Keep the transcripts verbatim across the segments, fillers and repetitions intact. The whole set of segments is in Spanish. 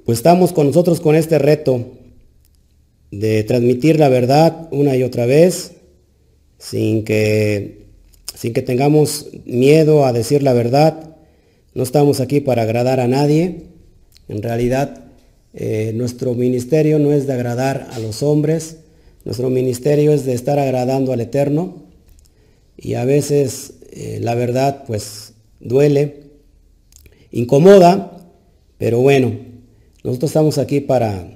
Pues estamos con nosotros con este reto de transmitir la verdad una y otra vez, sin que, sin que tengamos miedo a decir la verdad. No estamos aquí para agradar a nadie. En realidad, eh, nuestro ministerio no es de agradar a los hombres. Nuestro ministerio es de estar agradando al Eterno. Y a veces eh, la verdad pues duele, incomoda, pero bueno, nosotros estamos aquí para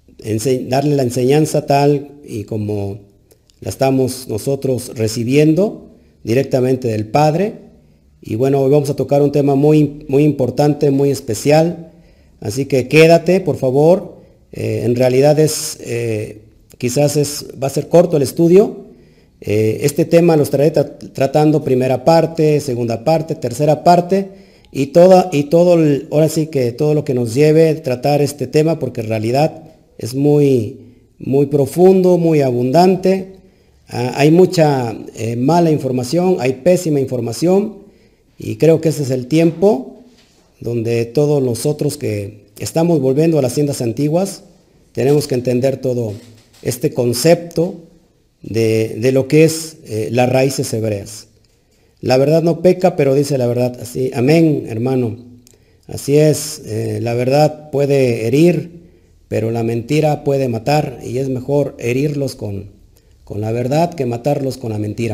darle la enseñanza tal y como la estamos nosotros recibiendo directamente del Padre. Y bueno, hoy vamos a tocar un tema muy, muy importante, muy especial, así que quédate, por favor. Eh, en realidad es, eh, quizás es, va a ser corto el estudio. Eh, este tema lo estaré tra tratando primera parte, segunda parte, tercera parte, y, toda, y todo, el, ahora sí que todo lo que nos lleve a tratar este tema, porque en realidad es muy, muy profundo, muy abundante. Ah, hay mucha eh, mala información, hay pésima información, y creo que ese es el tiempo donde todos nosotros que estamos volviendo a las tiendas antiguas, tenemos que entender todo este concepto de, de lo que es eh, las raíces hebreas. La verdad no peca, pero dice la verdad así. Amén, hermano. Así es, eh, la verdad puede herir, pero la mentira puede matar, y es mejor herirlos con, con la verdad que matarlos con la mentira.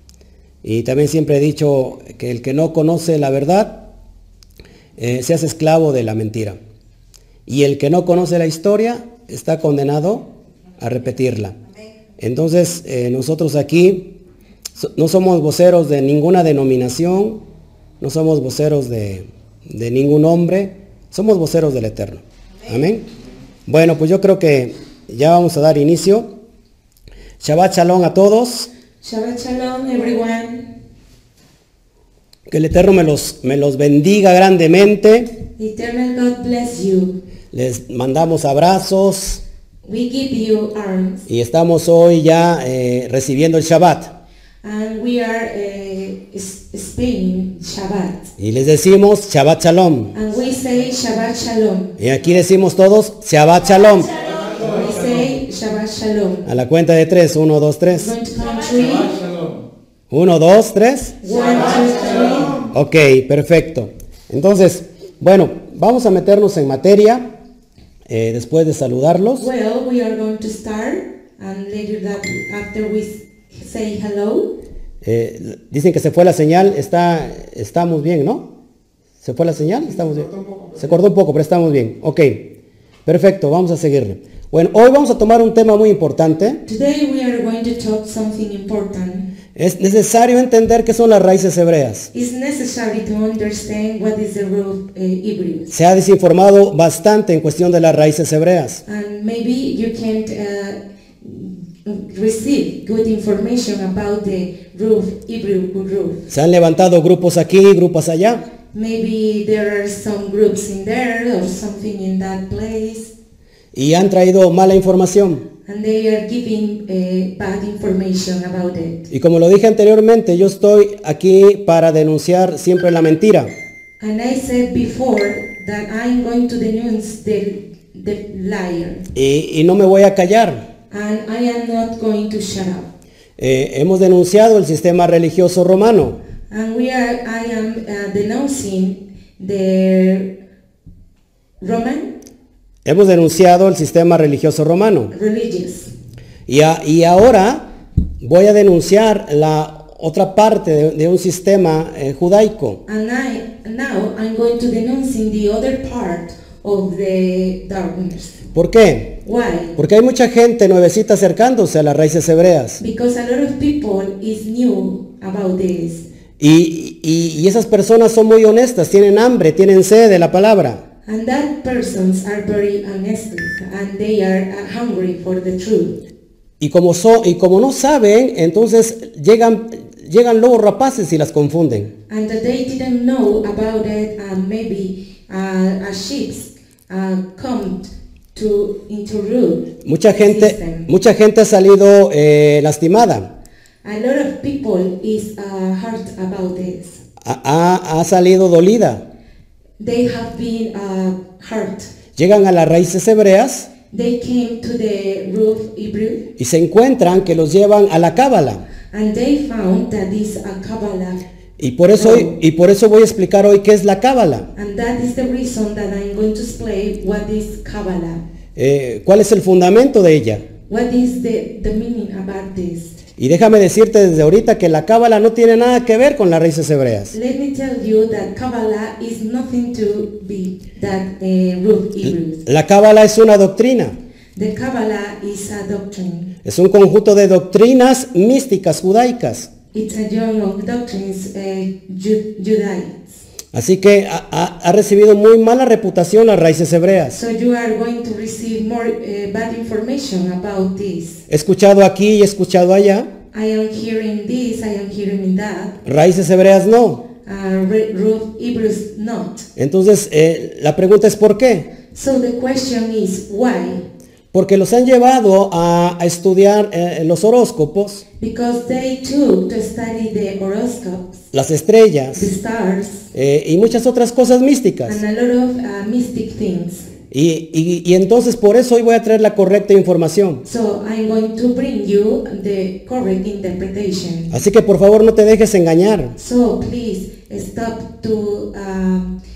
Y también siempre he dicho que el que no conoce la verdad eh, se hace esclavo de la mentira. Y el que no conoce la historia está condenado a repetirla. Entonces, eh, nosotros aquí so, no somos voceros de ninguna denominación, no somos voceros de, de ningún hombre, somos voceros del Eterno. Amén. Bueno, pues yo creo que ya vamos a dar inicio. Shabbat Shalom a todos. Shabbat Shalom, everyone. Que el Eterno me los, me los bendiga grandemente. Eternal God bless you. Les mandamos abrazos. We give you arms. Y estamos hoy ya eh, recibiendo el Shabbat. And we are uh, spending Shabbat. Y les decimos Shabbat Shalom. And we say Shabbat Shalom. Y aquí decimos todos Shabbat Shalom. We say Shabbat Shalom. A la cuenta de tres. Uno, dos, tres. Going to count three. Uno, dos, tres. One, two, three. Ok, perfecto. Entonces, bueno, vamos a meternos en materia. Eh, después de saludarlos. Well, we are going to start, and later that after we say hello. Eh, dicen que se fue la señal. Está, estamos bien, ¿no? ¿Se fue la señal? Estamos bien. Se cortó un poco, pero estamos bien. Ok, perfecto, vamos a seguirle. Bueno, hoy vamos a tomar un tema muy importante. Today we are going to talk something important. Es necesario entender qué son las raíces hebreas. It's necessary to understand what is the root uh, Hebrew. Se ha desinformado bastante en cuestión de las raíces hebreas. And maybe you can't uh, receive good information about the root Hebrew root. Se han levantado grupos aquí, grupos allá. Maybe there are some groups in there or something in that place. Y han traído mala información. And they are giving uh, bad information about it. Y como lo dije anteriormente, yo estoy aquí para denunciar siempre la mentira. And I said before that I'm going to denounce the, the liar. Y, y no me voy a callar. And I am not going to shut up. Eh, hemos denunciado el sistema religioso romano. And we are, I am uh, denouncing the Roman Hemos denunciado el sistema religioso romano. religious. Y, a, y ahora voy a denunciar la otra parte de, de un sistema eh, judaico. And I, now I'm going to denouncing the other part of the darkness. ¿Por qué? Why? Porque hay mucha gente nuevecita acercándose a las raíces hebreas. Because a lot of people is new about this. Y, y, y esas personas son muy honestas, tienen hambre, tienen sed de la palabra. And that persons are very honest and they are uh, hungry for the truth. Y como, so, y como no saben, entonces llegan, llegan lobos rapaces y las confunden. And that they didn't know about it, and maybe uh, a sheep uh, come to into root. Mucha gente, system. mucha gente ha salido eh, lastimada. A lot of people is uh, hurt about this. Ha, ha, ha salido dolida. They have been uh, hurt. llegan a las raíces hebreas they came to the root Hebrew, y se encuentran que los llevan a la Cábala. and they found that is a Kabbalah. Y por eso hoy, y por eso voy a explicar hoy qué es la Cábala. And that is the reason that I'm going to explain what is Kabbalah. Eh, ¿Cuál es el fundamento de ella? What is the, the meaning about this? Y déjame decirte desde ahorita que la Cábala no tiene nada que ver con las raíces hebreas. Let me tell you that Kabbalah is nothing to be that uh, root Hebrews. La Cábala es una doctrina. The Kabbalah is a doctrine. Es un conjunto de doctrinas místicas judaicas. It's a joint of doctrines, uh, Ju- Judaism. Así que ha, ha- ha recibido muy mala reputación las raíces hebreas. So you are going to receive more uh, bad information about this. He escuchado aquí y he escuchado allá. I am hearing this, I am hearing that. Raíces hebreas no. Uh, re- root Hebrews not. Entonces eh, la pregunta es ¿por qué? So the question is why? Porque los han llevado a, a estudiar eh, los horóscopos, Because they took to study the horoscopes, las the estrellas stars, eh, y muchas otras cosas místicas. and a lot of uh, mystic things. Y, y- y entonces por eso hoy voy a traer la correcta información. So I'm going to bring you the correct interpretation. Así que por favor no te dejes engañar. So please stop to um, uh,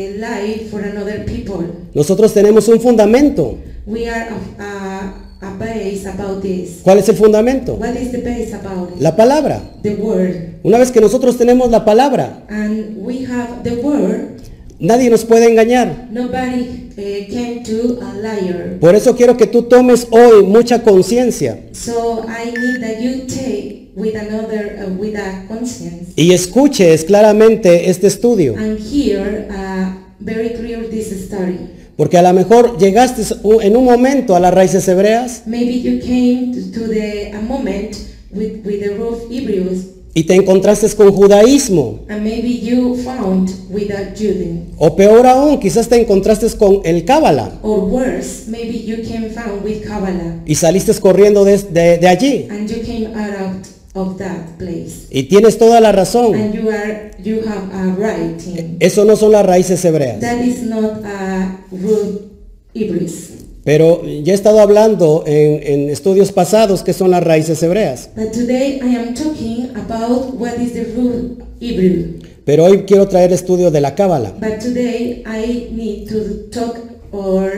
lie for another people. Nosotros tenemos un fundamento. We are a, a, a base about this. ¿Cuál es el fundamento? What is the base about it? La palabra. The word. Una vez que nosotros tenemos la palabra, And we have the word. nadie nos puede engañar. Nobody uh, came to a liar. Por eso quiero que tú tomes hoy mucha conciencia So I need that you take with another, uh, with a conscience, y escuches claramente este estudio. and hear uh, very clear this story. Porque a lo mejor llegaste en un momento a las raíces hebreas Maybe you came to, to the a moment with, with the root Hebrews, y te encontraste con judaísmo. and maybe you found with a Judaism. O peor aún, quizás te encontraste con el Cábala Or worse, maybe you came found with Kabbalah, y saliste corriendo de, de- de allí. and you came out of that place. Y tienes toda la razón. And you are you have a right in. Eso no son las raíces hebreas. That is not a root Hebrews. Pero ya he estado hablando en, en estudios pasados que son las raíces hebreas. But today I am talking about what is the root Hebrew. Pero hoy quiero traer estudio de la Cábala. But today I need to talk or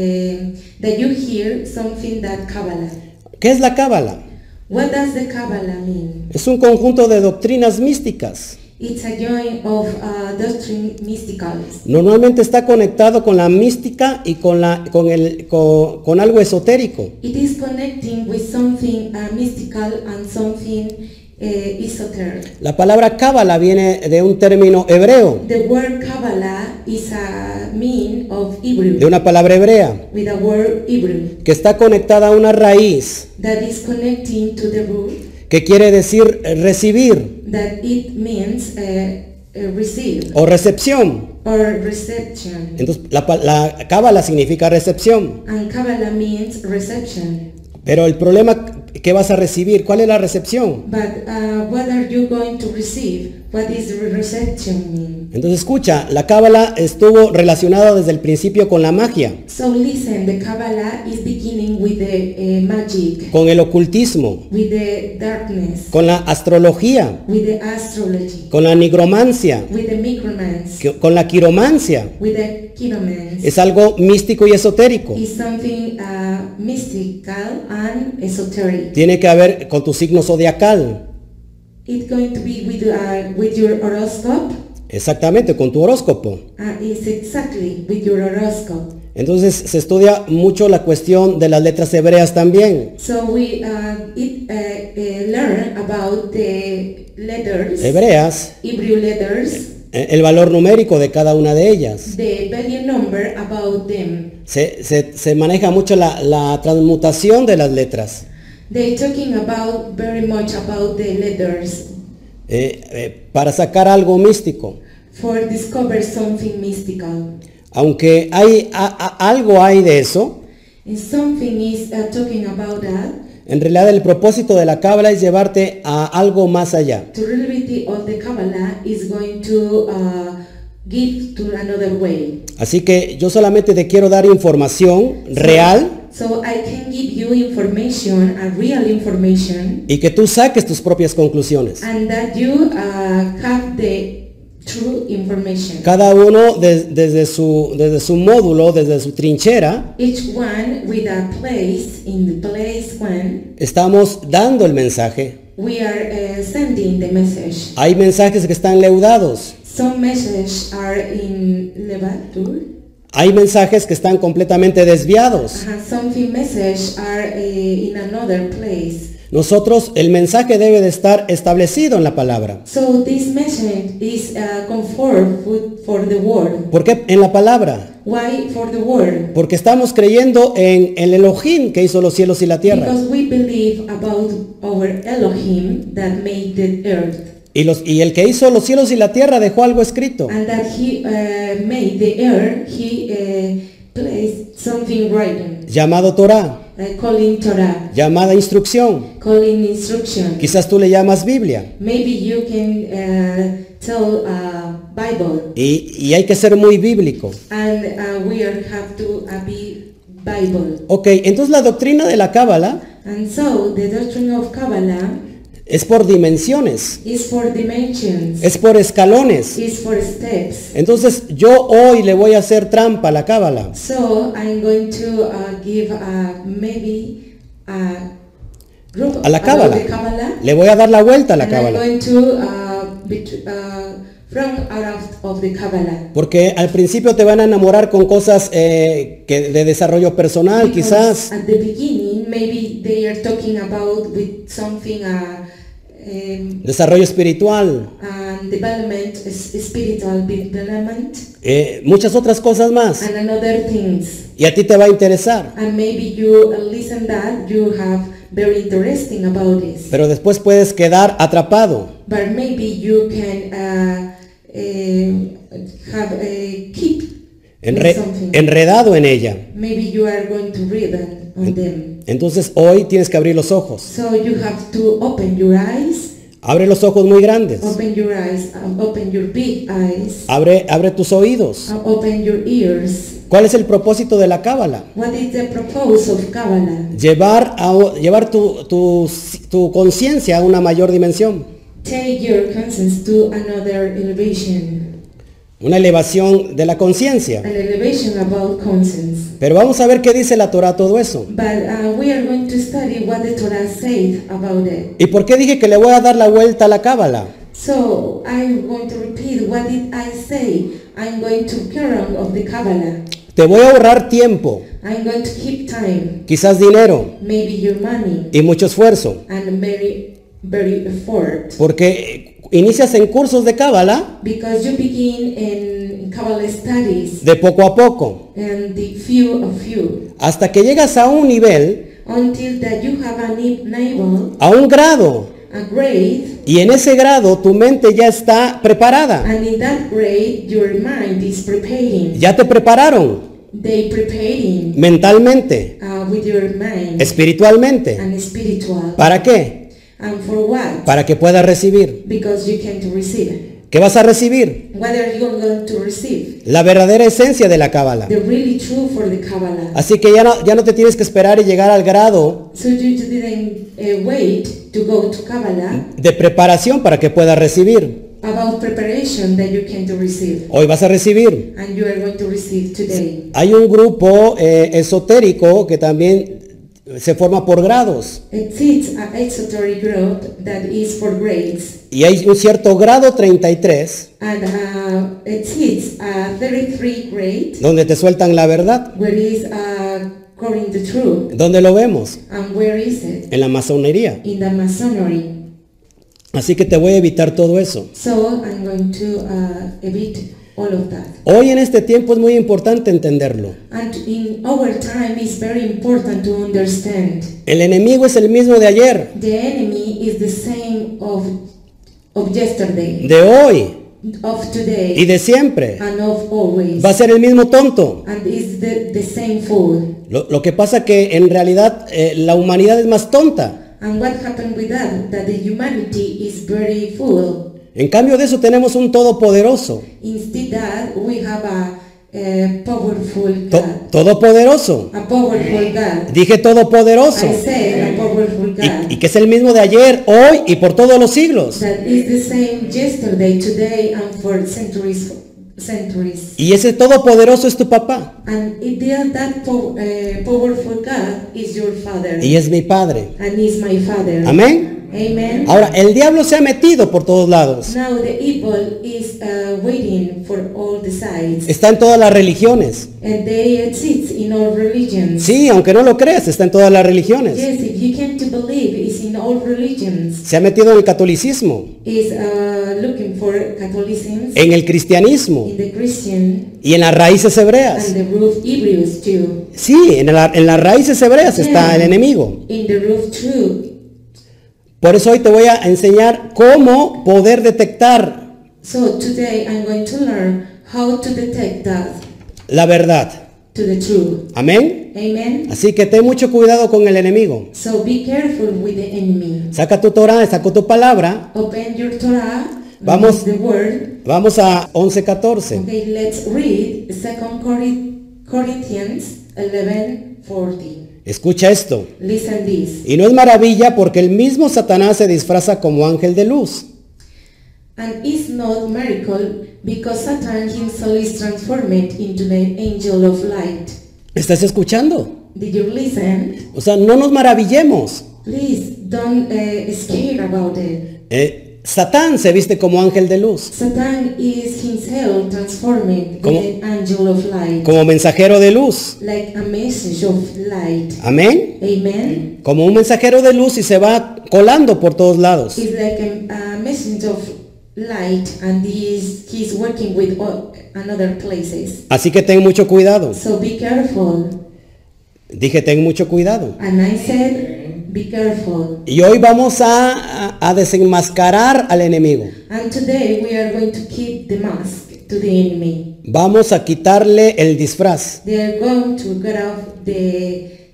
um that you hear something that Kabbalah. ¿Qué es la Cábala? What does the Kabbalah mean? Es un conjunto de doctrinas místicas. It's a joint of uh, doctrine mysticals. Normalmente está conectado con la mística y con, la, con, el, con, con algo esotérico. It is connecting with something uh, mystical and something uh, esoteric. La palabra Cábala viene de un término hebreo, The word Kabbalah is a mean of Hebrew, de una palabra hebrea, with a word Hebrew, que está conectada a una raíz, that is connecting to the root, que quiere decir eh, recibir that it means uh, uh, receive o recepción. or reception. Entonces, la, pa- la Cábala significa recepción. And Kabbalah means reception. Pero el problema, ¿qué vas a recibir? ¿Cuál es la recepción? But uh, what are you going to receive? What is re- reception mean? Entonces escucha, la Cábala estuvo relacionada desde el principio con la magia, So listen, the Kabbalah is beginning with the uh, magic, con el ocultismo, with the darkness, con la astrología, with the astrology, con la nigromancia, with the micromance, que- con la quiromancia. with the chinomance. Es algo místico y esotérico. Is something uh, mystical and esoteric. Tiene que ver con tu signo zodiacal, It's going to be with uh, with your horoscope. exactamente, con tu horóscopo. Uh, it's exactly with your horoscope. Entonces se estudia mucho la cuestión de las letras hebreas también. So we uh, it, uh, uh, learn about the letters, Hebreas, Hebrew letters, eh, el valor numérico de cada una de ellas. the value number about them. Se, se- se maneja mucho la, la transmutación de las letras. They talking about very much about the letters eh, eh, para sacar algo místico. for discover something mystical. Aunque hay a- a- algo hay de eso, And something is uh, talking about that. en realidad el propósito de la Cábala es llevarte a algo más allá. The reality of the Kabbalah is going to uh, give to another way. Así que yo solamente te quiero dar información real So I can give you information, a real information, y que tú saques tus propias conclusiones. and that you uh, have the true information. Cada uno de- desde, su, desde su módulo, desde su trinchera, Each one with a place, in the place one, estamos dando el mensaje. we are uh, sending the message. Hay mensajes que están leudados. Some messages are in Levatur. Hay mensajes que están completamente desviados. Uh, something message are uh, in another place. Nosotros, el mensaje debe de estar establecido en la palabra. So this message is uh, conformed with, for the word. ¿Por qué en la palabra? Why for the word? Porque estamos creyendo en el Elohim que hizo los cielos y la tierra. Because we believe about our Elohim that made the earth, Y, los, y el que hizo los cielos y la tierra dejó algo escrito. and that he uh, made the earth. He uh, placed something written, Llamado Torah, uh, calling Torah, llamada instrucción. calling instruction. Quizás tú le llamas Biblia. Maybe you can uh, tell uh, Bible, Y, y hay que ser muy bíblico. and uh, we are, have to uh, be Bible. Ok, entonces la doctrina de la Cábala And so the doctrine of Kabbalah es por dimensiones, is for dimensions, es por escalones. is for steps. Entonces yo hoy le voy a hacer trampa a la Cábala. So I'm going to uh, give uh, maybe a group A la about Cábala. the Kabbalah, Le voy a dar la vuelta a la and I'm Cábala. going to uh, bet- uh, from out of the Kabbalah. Porque al principio te van a enamorar con cosas eh, que de desarrollo personal, Because quizás. at the beginning, maybe they are talking about with something uh, um, Desarrollo espiritual. and development, is spiritual development, eh, muchas otras cosas más. and another things. Y a ti te va a interesar. And maybe you uh, listen that you have very interesting about this. Pero después puedes quedar atrapado. But maybe you can uh, uh, have uh, keep enre- something. enredado en ella. Maybe you are going to read on, on them. Entonces hoy tienes que abrir los ojos. So you have to open your eyes, Abre los ojos muy grandes. open your eyes, um, open your big eyes, Abre, abre tus oídos. uh, open your ears. ¿Cuál es el propósito de la Cábala? What is the purpose of Kabbalah? Llevar, a, llevar tu, tu, tu conciencia a una mayor dimensión. Take your conscience to another elevation, Una elevación de la conciencia. an elevation about conscience. Pero vamos a ver qué dice la Torah todo eso. But uh, we are going to study what the Torah says about it. ¿Y por qué dije que le voy a dar la vuelta a la Cábala? So I'm going to repeat what did I say. I'm going to carry on of the Kabbalah. Te voy a ahorrar tiempo, I'm going to keep time, quizás dinero maybe your money, y mucho esfuerzo. and very, very effort. Porque inicias en cursos de Cábala Because you begin in Kabbalah studies, de poco a poco, and the few of you, hasta que llegas a un nivel, until that you have a ni- level, a un grado, a grade, y en ese grado tu mente ya está preparada. and in that grade your mind is preparing. Ya te prepararon They preparing mentalmente, uh, with your mind espiritualmente. and spiritual. ¿Para qué? And for what? Para que puedas recibir. Because you can to receive. ¿Qué vas a recibir? What are you going to receive? La verdadera esencia de la Cábala. The really true for the Kabbalah. Así que ya no, ya no te tienes que esperar y llegar al grado So you just didn't uh, wait to go to Kabbalah de preparación para que puedas recibir. about preparation that you can to receive. Hoy vas a recibir. And you are going to receive today. Hay un grupo eh, esotérico que también se forma por grados. It's an esoteric group that is for grades. Y hay un cierto grado treinta y tres And uh, it hits a thirty-three grade, donde te sueltan la verdad. where is uh, according the truth. ¿Dónde lo vemos? And where is it? En la masonería. In the Masonry. Así que te voy a evitar todo eso. So I'm going to uh, evit all of that. Hoy en este tiempo es muy importante entenderlo. And in our time it's very important to understand. El enemigo es el mismo de ayer, The enemy is the same of of yesterday, de hoy of y today, de siempre. and of always. Va a ser el mismo tonto. And is the, the same fool. Lo, lo que pasa que en realidad eh, la humanidad es más tonta. And what happened with that? That the humanity is very full. En cambio de eso tenemos un todopoderoso. Instead that we have a, a powerful To- God. todopoderoso. A powerful God. Dije todopoderoso. I said a powerful God. Y, y que es el mismo de ayer, hoy y por todos los siglos. That is the same yesterday, today, and for centuries. centuries. Y ese todopoderoso es tu papá. And it, that po- uh, powerful God is your Father. Y es mi padre. And is my Father. Amén. Amen. Ahora, el diablo se ha metido por todos lados. Now the evil is uh, waiting for all the sides. Está en todas las religiones. And they exist in all religions. Sí, aunque no lo creas, está en todas las religiones. Yes, if you came to believe, it's in all religions. Se ha metido en el catolicismo, Is uh, looking for Catholicism, en el cristianismo in the Christian, y en las raíces hebreas. and the root Hebrews too. Sí, en, la- en las raíces hebreas está el enemigo. In the root too. Por eso hoy te voy a enseñar cómo poder detectar So today I'm going to learn how to detect that la verdad. to the truth. Amén. Amen. Así que ten mucho cuidado con el enemigo. So be careful with the enemy. Saca tu Torah, saca tu palabra. Open your Torah. Vamos. read the word. Vamos a once catorce. Okay, let's read Second Corinthians eleven forty. Escucha esto. Listen this. Y no es maravilla porque el mismo Satanás se disfraza como ángel de luz. And it's not miracle because Satan himself is transformed into the angel of light. ¿Estás escuchando? Did you listen? O sea, no nos maravillemos. Please don't uh, scare about it. Eh, Satán se viste como ángel de luz, Satan is himself transformed Como- into an angel of light, como mensajero de luz. like a message of light. Amén. Amen. Como un mensajero de luz y se va colando por todos lados. He's like a, a message of light, and he's he's working with all, another places. Así que ten mucho cuidado. So be careful. Dije, ten mucho cuidado. And I said, be careful. Y hoy vamos a, a- a desenmascarar al enemigo. And today we are going to keep the mask to the enemy. Vamos a quitarle el disfraz. They are going to get off the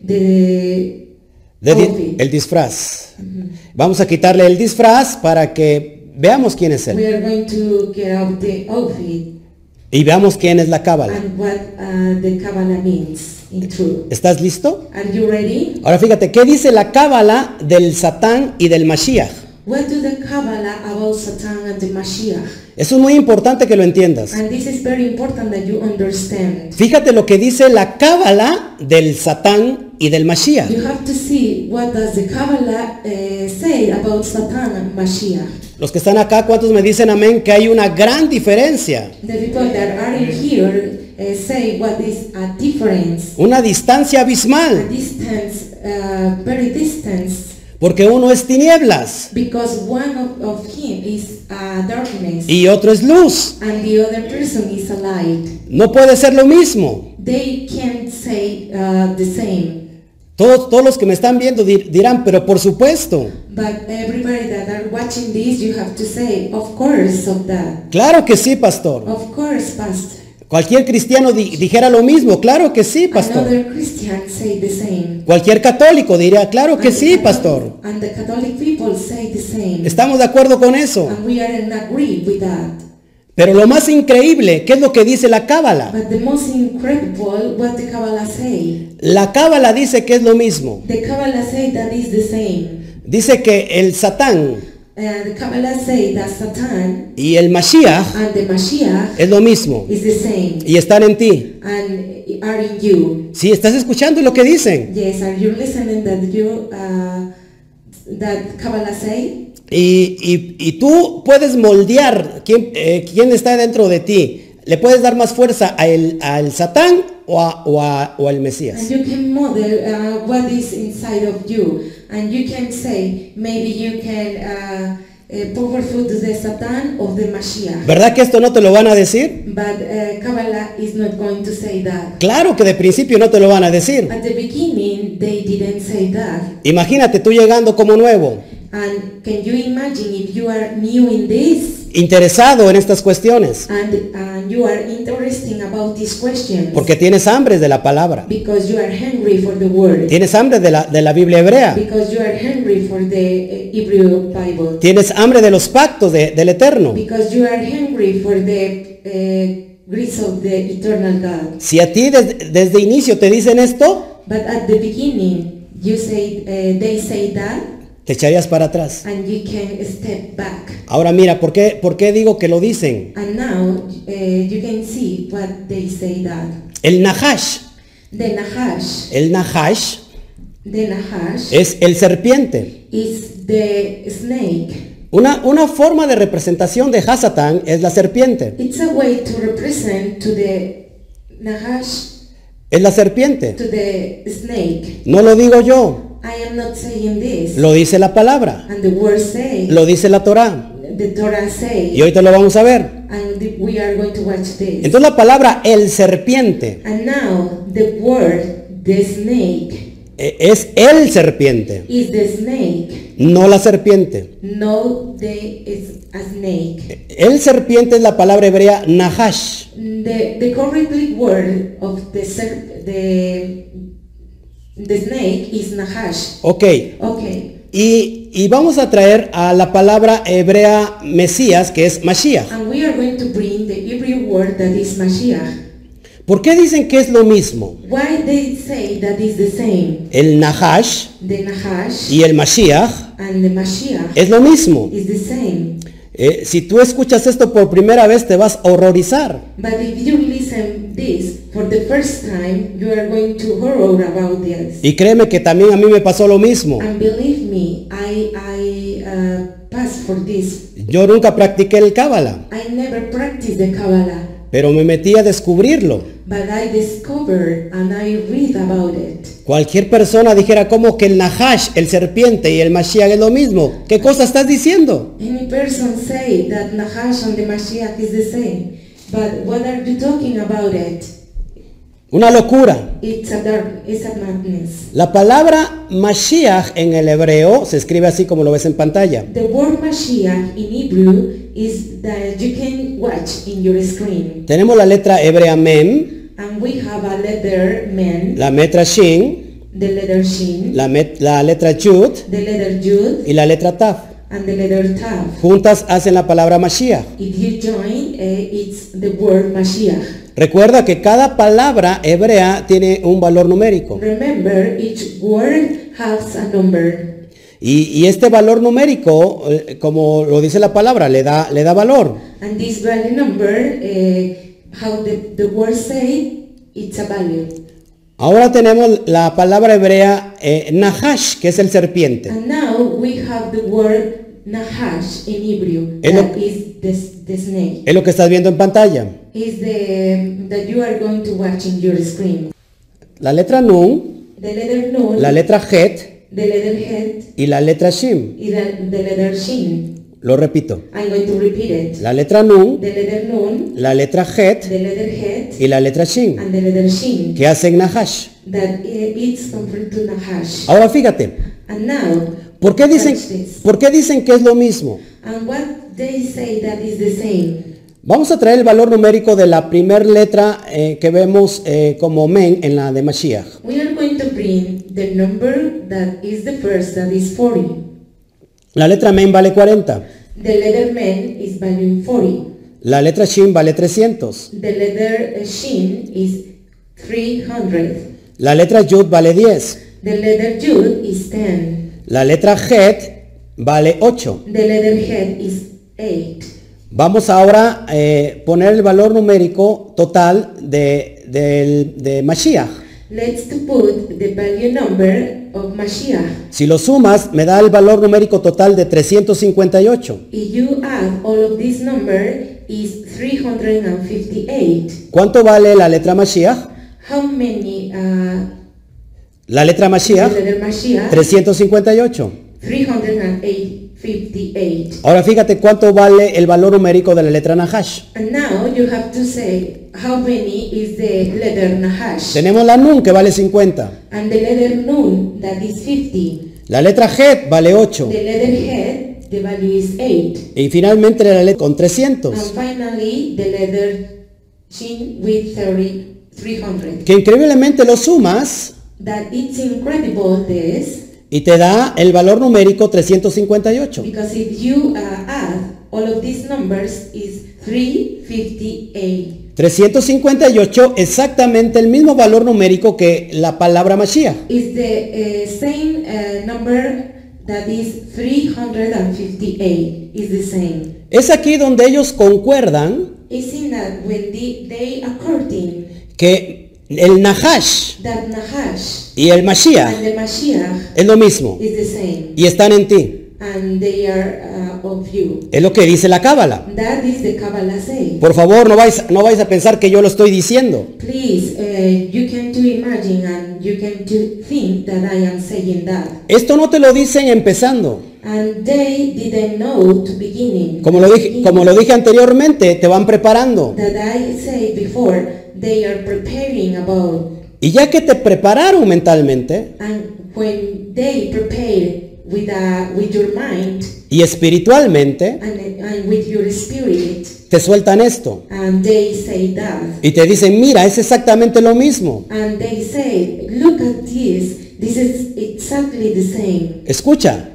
the de di- outfit. el disfraz. Vamos a quitarle el disfraz para que veamos quién es We él. are going to get off the outfit Y veamos quién es la cábala. and what uh, the Kabbalah means in truth. ¿Estás listo? Are you ready? Ahora fíjate, ¿qué dice la cábala del Satán y del Mashiach? What do the Kabbalah about Satan and the Mashiach? Eso es muy importante que lo entiendas. And this is very important that you understand. Fíjate lo que dice la cábala del Satán y del Mashiach. You have to see what does the Kabbalah uh, say about Satan and Mashiach. Los que están acá, ¿cuántos me dicen amén? Que hay una gran diferencia, The people that are in here uh, say what is a difference, una distancia a abismal, distance, uh, very distance, porque uno es tinieblas because one of, of him is uh, darkness y otro es luz. and the other person is a light. No puede ser lo mismo. They can't say uh, the same. Todos, todos los que me están viendo dir- dirán, pero por supuesto, But everybody that are watching this, you have to say, of course, of that. claro que sí, pastor. Of course, Pastor. Cualquier cristiano di- dijera lo mismo, claro que sí, pastor. Another Christian say the same. Cualquier católico diría, claro que And the sí, Catholic- pastor. And the Catholic people say the same. Estamos de acuerdo con eso. And we are in agree with that. Pero lo más increíble, ¿qué es lo que dice la cábala? But the most incredible, what the Kabbalah say. La cábala dice que es lo mismo. The Kabbalah say that is the same. Dice que el Satán Uh, the Kabbalah say that Satan y el Mashiach and the Mashiach es lo mismo is the same y están en ti. and are in you. Si estás escuchando lo que dicen. Yes, are you listening that you uh, that Kabbalah say? Y, y- y tú puedes moldear quién, eh, quién está dentro de ti. Le puedes dar más fuerza a el- al Satán o, a- o, a- o al And Mesías. you can model uh, what is inside of you, and you can say maybe you can uh, uh, powerful to the Satan of the Mashiach. ¿Verdad que esto no te lo van a decir? But uh, Kabbalah is not going to say that. Claro que de principio no te lo van a decir. At the beginning, they didn't say that. Imagínate tú llegando como nuevo And can you imagine if you are new in this interesado en estas cuestiones. And, and you are interested about these questions. Porque tienes hambre de la palabra. Because you are hungry for the word. Tienes hambre de la, de la Biblia hebrea. Because you are hungry for the uh, Hebrew Bible. Tienes hambre de los pactos de, del Eterno. Because you are hungry for the uh, grace of the eternal God. Si a ti des, desde inicio te dicen esto, But at the beginning, you say, uh, they say that, te echarías para atrás. and you can step back. Ahora mira, ¿por qué, por qué digo que lo dicen? And now uh, you can see what they say that. El Nahash, The Nahash, el Nahash the Nahash es el serpiente. is the snake. Una, una forma de representación de Hasatán es la serpiente. It's a way to represent to the Nahash, Es la serpiente. to the snake. No lo digo yo, I am not saying this. lo dice la palabra, And the word say, lo dice la Torá. the Torah say, Y ahorita lo vamos a ver. and the- we are going to watch this. Entonces la palabra el serpiente And now the word, the snake, eh, es el serpiente, is the snake. no la serpiente. No, the is a snake. El serpiente es la palabra hebrea Nahash. The the correctly word of the serp, the the snake is Nahash. Ok, Okay. y, y vamos a traer a la palabra hebrea Mesías, que es Mashiach. And we are going to bring the Hebrew word that is Mashiach. ¿Por qué dicen que es lo mismo? Why they say that is the same? El Nahash The Nahash y el Mashiach and the Mashiach es lo mismo. is the same. Eh, si tú escuchas esto por primera vez te vas a horrorizar. But if you listen this for the first time, you are going to horror about this. Y créeme que también a mí me pasó lo mismo. And believe me, I I uh, passed for this. Yo nunca practiqué el Cábala, I never practiced the Kabbalah, pero me metí a descubrirlo. but I discovered and I read about it. Cualquier persona dijera como que el Nahash, el serpiente y el Mashiach es lo mismo. ¿Qué cosa estás diciendo? Any person say that Nahash and the Mashiach is the same, but what are you talking about it? Una locura. It's a dark, it's a madness. La palabra Mashiach en el hebreo se escribe así como lo ves en pantalla. The word Mashiach in Hebrew is that you can watch in your screen. Tenemos la letra hebrea Mem, And we have a letter men, la letra Shin, the letter Shin, la, met- la letra Yud the letter Yud, y la letra Tav. and the letter Tav. Juntas hacen la palabra Mashiach. If you join, uh, it's the word Mashiach. Recuerda que cada palabra hebrea tiene un valor numérico. Remember, each word has a number. Y, y este valor numérico, eh, como lo dice la palabra, le da, le da valor. And this value number, uh, how the, the word say, it's a value. Ahora tenemos la palabra hebrea eh, Nahash, que es el serpiente. And now we have the word Nahash in Hebrew, Es lo- that is the, the snake. Es lo que estás viendo en pantalla. Is the that you are going to watch in your screen. La letra Nun, The letter Nun, la letra Het the letter Het, y la letra Shim. is the, the letter Shin. Lo repito. I'm going to repeat it. La letra Nun, The letter Nun, la letra Het the letter Het, y la letra Shin, and the letter Shin. que hacen Nahash. That i- it's compared to Nahash. Ahora fíjate, And now, ¿por qué dicen, watch this. ¿por qué dicen que es lo mismo? And what they say that is the same. Vamos a traer el valor numérico de la primera letra eh, que vemos eh, como Men en la de Mashiach. We are going to bring the number that is the first, that is forty. La letra Men vale cuarenta. The letter Men is value forty. La letra Shin vale trescientos. The letter uh, Shin is three hundred. La letra Yud vale diez. The letter Yud is ten. La letra Het vale ocho. The letter Het is eight. Vamos ahora a eh, poner el valor numérico total de, del- de Mashiach. Let's to put the value number of Mashiach. Si lo sumas, me da el valor numérico total de trescientos cincuenta y ocho. If you add all of this number is three hundred fifty-eight. ¿Cuánto vale la letra Mashiach? How many uh, La letra the Mashiach, letter Mashiach? trescientos cincuenta y ocho. three hundred fifty-eight. Ahora fíjate cuánto vale el valor numérico de la letra Nahash. And now you have to say how many is the letter Nahash. Tenemos la Nun que vale cincuenta. And the letter Nun, that is fifty. La letra Het vale ocho. The letter Het the value is eight. Y finalmente la letra con trescientos. And finally, the letter Shin with thirty, three hundred. Que increíblemente lo sumas That it's incredible this, y te da el valor numérico trescientos cincuenta y ocho. because if you uh, add all of these numbers is three hundred fifty-eight. trescientos cincuenta y ocho, exactamente el mismo valor numérico que la palabra Mashiach. Is the uh, same uh, number that is three hundred fifty-eight. Is the same. Es aquí donde ellos concuerdan It's in that when the, they according que el Nahash that Nahash y el Mashiach and the Mashiach es lo mismo is the same, y están en ti. and they are uh, of you. Es lo que dice la Cábala. That is the Kabbalah say. Por favor, no vais, no vais a pensar que yo lo estoy diciendo. Please, uh, you can to imagine and you can to think that I am saying that. Esto no te lo dicen empezando. And they didn't know to beginning. Como lo dije, como lo dije anteriormente, te van preparando. That I said before, they are preparing about. Y ya que te prepararon mentalmente And when they prepare with uh, with your mind y espiritualmente, and, and with your spirit, te sueltan esto. and they say that. Y te dicen, mira, es exactamente lo mismo. And they say, look at this, this is exactly the same. Escucha,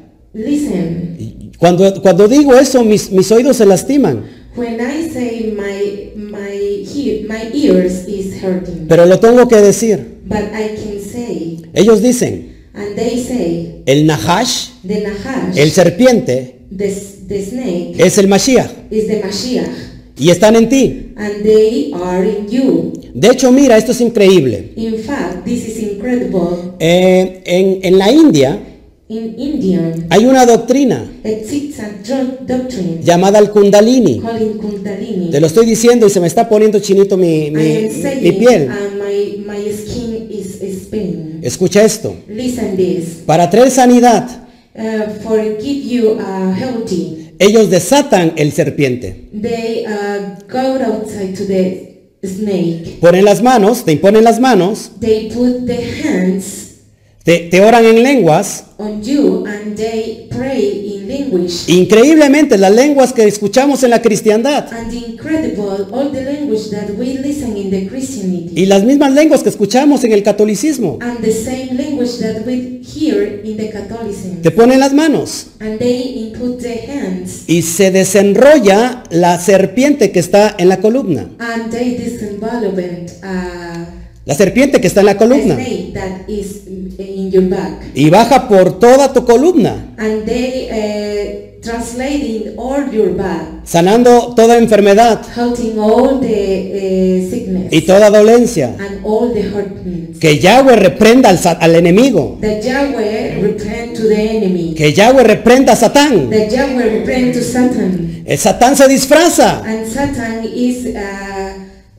Listen, cuando, cuando digo eso, mis, mis oídos se lastiman. when I say my my he, my ears is hurting, Pero lo tengo que decir. but I can say, Ellos dicen, and they say, el Nahash, the Nahash, el serpiente, the, the snake, es el Mashiach. is the Mashiach, Y están en ti. and they are in you. De hecho, mira, esto es increíble. In fact, this is incredible. Eh, en, en la India In Indian, hay una doctrina exists a dro- doctrine llamada el Kundalini. called Kundalini. Te lo estoy diciendo y se me está poniendo chinito mi, mi, I am saying, mi piel. and my, my skin is, is pain. Escucha esto. Listen this. Para traer sanidad, Uh, for give you uh, healthy, ellos desatan el serpiente. they uh, go outside to the snake. Ponen las manos, te imponen las manos, They put the hands te, te oran en lenguas. on you and they pray in language. Increíblemente, las lenguas que escuchamos en la cristiandad And incredible, all the language that we listen in the Christianity. y las mismas lenguas que escuchamos en el catolicismo, And the same language that we hear in the Catholicism. te ponen las manos And they input the hands y se desenrolla la serpiente que está en la columna. and they disenvelopment uh, La serpiente que está en la a columna. snake that is in your back. Y baja por toda tu columna, And they uh, translating all your back, sanando toda enfermedad helping all the uh, sickness y toda dolencia. and all the hurtings. Que Yahweh reprenda al, sa- al enemigo. That Yahweh reprend to the enemy. Que Yahweh reprenda a Satán. That Yahweh reprend to Satan. El Satán se disfraza. And Satan is uh,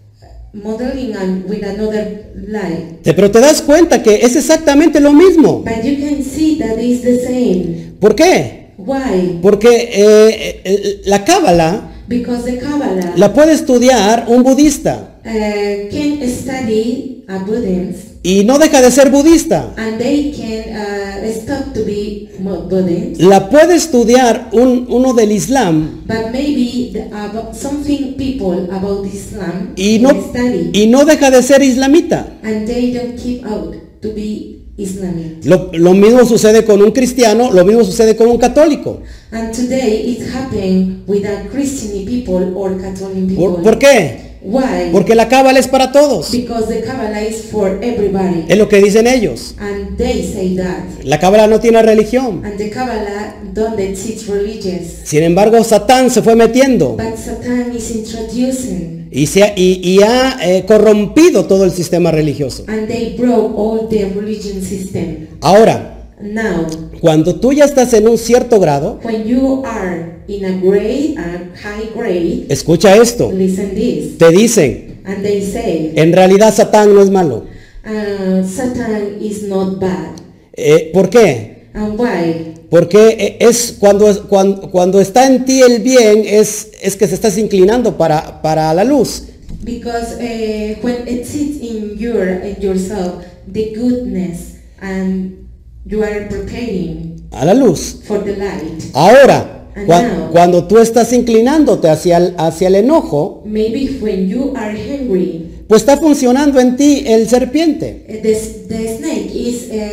modeling and with another lie. Te- Pero te das cuenta que es exactamente lo mismo. But you can see that is the same. ¿Por qué? Why? Porque eh, eh, la Cábala Because the Kabbalah la puede estudiar un budista uh, can study a Buddhist y no deja de ser budista. and they can uh, stop to be mo- Buddhist. La puede estudiar un, uno del Islam But maybe the, about something people about Islam y can no, study y no deja de ser islamita. and they don't keep out to be Islamic. Lo, lo mismo sucede con un cristiano, lo mismo sucede con un católico. And today it's happening with a Christian people or Catholic people. ¿Por, por qué? Why? Porque la Cábala es para todos. Because the Kabbalah is for everybody. Es lo que dicen ellos. And they say that. La Cábala no tiene religión. And the Kabbalah don't teach religious. Sin embargo, Satán se fue metiendo But Satan is introducing. y, se ha, y, y ha eh, corrompido todo el sistema religioso. And they broke all the religion system. Ahora, Now, cuando tú ya estás en un cierto grado, when you are in a grade and high grade, escucha esto, listen this. te dicen, And they say, en realidad Satán no es malo. uh, Satan is not bad. Eh, ¿Por qué? And why? Porque eh, es cuando, cuando, cuando está en ti el bien, es, es que se estás inclinando para, para la luz. Because uh, when it sits in your in yourself, the goodness, and you are preparing A la luz. for the light. Ahora, And Cua- now, Cuando tú estás inclinándote hacia el, hacia el enojo, maybe when you are hungry, pues está funcionando en ti el serpiente. uh, the, the snake is uh,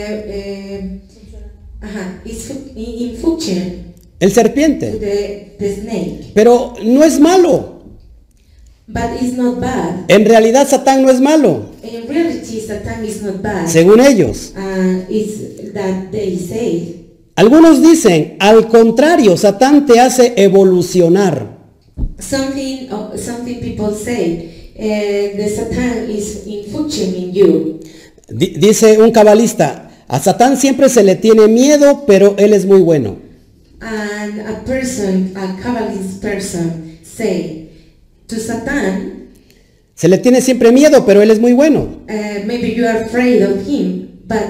uh, uh-huh, is fu- in, in function El to serpiente. the, the snake. Pero no es malo. But it's not bad. En realidad Satán no es malo, In reality, Satan is not bad. según ellos. Uh, it's that they say. Algunos dicen, al contrario, Satán te hace evolucionar. Something, uh, something people say, uh, the Satan is in function in you. Di- dice un cabalista, a Satán siempre se le tiene miedo, pero él es muy bueno. And a person, a Kabbalist person, say to Satan, Se le tiene siempre miedo, pero él es muy bueno. uh, maybe you are afraid of him, but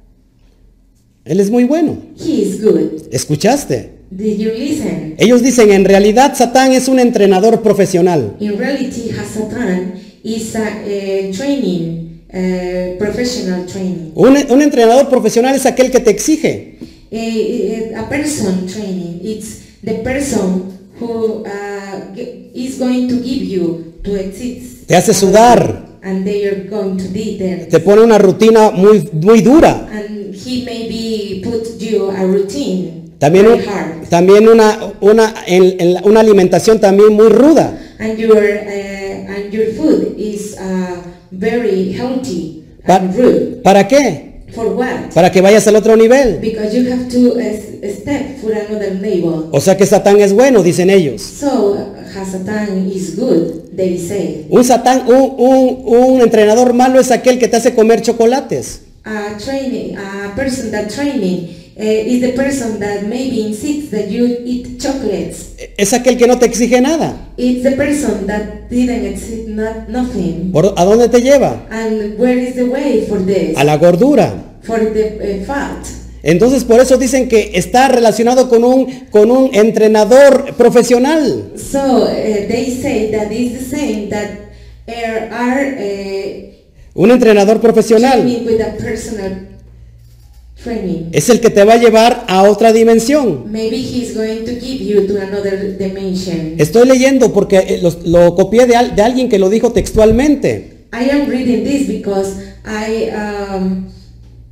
Él es muy bueno. he is good. ¿Escuchaste? Did you listen? Ellos dicen, en realidad Satán es un entrenador profesional. In reality, Satan is a, uh, training, uh, professional training. Un, un entrenador profesional es aquel que te exige. A, a person training, it's the person who uh, g- is going to give you to exist. Te hace sudar. And they are going to be there. Te pone una rutina muy, muy dura. And he maybe put you a routine, También, very un- hard. también una, una, en- en la- una alimentación también muy ruda. And your, uh, and your food is uh, very healthy Pa- and rude. ¿Para qué? For what? Para que vayas al otro nivel. Because you have to uh, s- step for another level. O sea que Satán es bueno, dicen ellos. So, uh, Satan is good, they say. Un Satán, un, un, un entrenador malo es aquel que te hace comer chocolates. A training, a person that training uh, is the person that maybe insists that you eat chocolates. Es aquel que no te exige nada. It's the person that didn't exist not, nothing. ¿Por- ¿A dónde te lleva? And where is the way for this? A la gordura. For the uh, fat. Entonces por eso dicen que está relacionado con un, con un entrenador profesional. So uh, they say that it's the same that are, are uh, Un entrenador profesional training with a personal training. es el que te va a llevar a otra dimensión. Maybe he's going to give you to another dimension. Estoy leyendo porque eh, los- lo copié de, al- de alguien que lo dijo textualmente. I am reading this because I um, uh,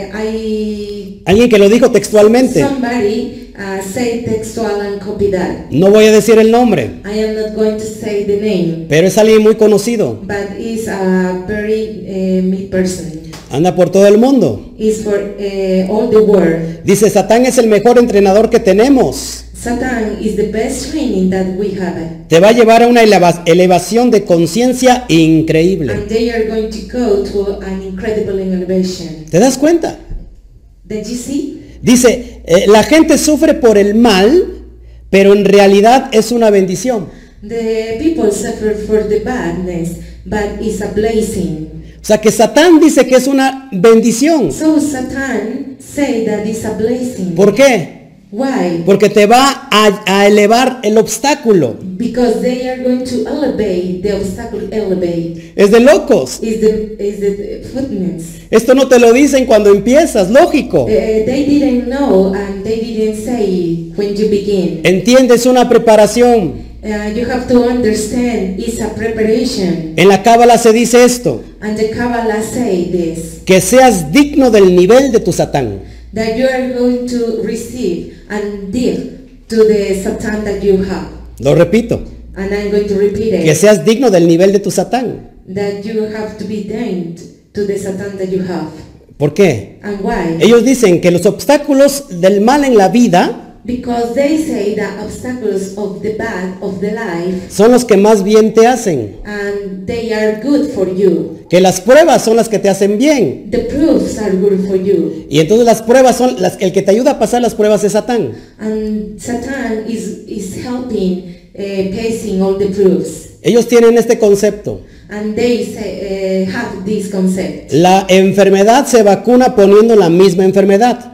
I Alguien que lo dijo textualmente. somebody uh, say textual and copy that. No voy a decir el nombre, I am not going to say the name, pero es alguien muy conocido. but is a very uh, mid person. Anda por todo el mundo. Is for uh, all the world. Dice, Satán es el mejor entrenador que tenemos. Satan is the best training that we have, Te va a llevar a una eleva- elevación de conciencia increíble. and they are going to go to an incredible elevation. ¿Te das cuenta? Did you see? Dice, eh, la gente sufre por el mal, pero en realidad es una bendición. The people suffer for the badness, but it's a blessing. O sea que Satán dice que es una bendición. So Satan say that it's a blessing. ¿Por qué? Why? Porque te va a, a elevar el obstáculo. Because they are going to elevate the obstacle. Elevate Es de locos. is the is the footness. Esto no te lo dicen cuando empiezas, lógico. Uh, they didn't know and they didn't say when you begin. Entiendes una preparación. Uh, you have to understand it's a preparation. En la Cábala se dice esto, And the Kabbalah say this, que seas digno del nivel de tu Satán. that you are going to receive and dig to the Satan that you have. Lo repito, And I'm going to repeat que it. seas digno del nivel de tu Satán. That you have to be damned to the Satan that you have. ¿Por qué? And why? Ellos dicen que los obstáculos del mal en la vida Because they say that obstacles of the bad of the life, son los que más bien te hacen. and they are good for you. Que las pruebas son las que te hacen bien. The proofs are good for you. Y entonces las pruebas son las, el que te ayuda a pasar las pruebas es Satán. And Satan is, is helping uh, passing all the proofs. Ellos tienen este concepto. And they say, uh, have this concept. La enfermedad se vacuna poniendo la misma enfermedad.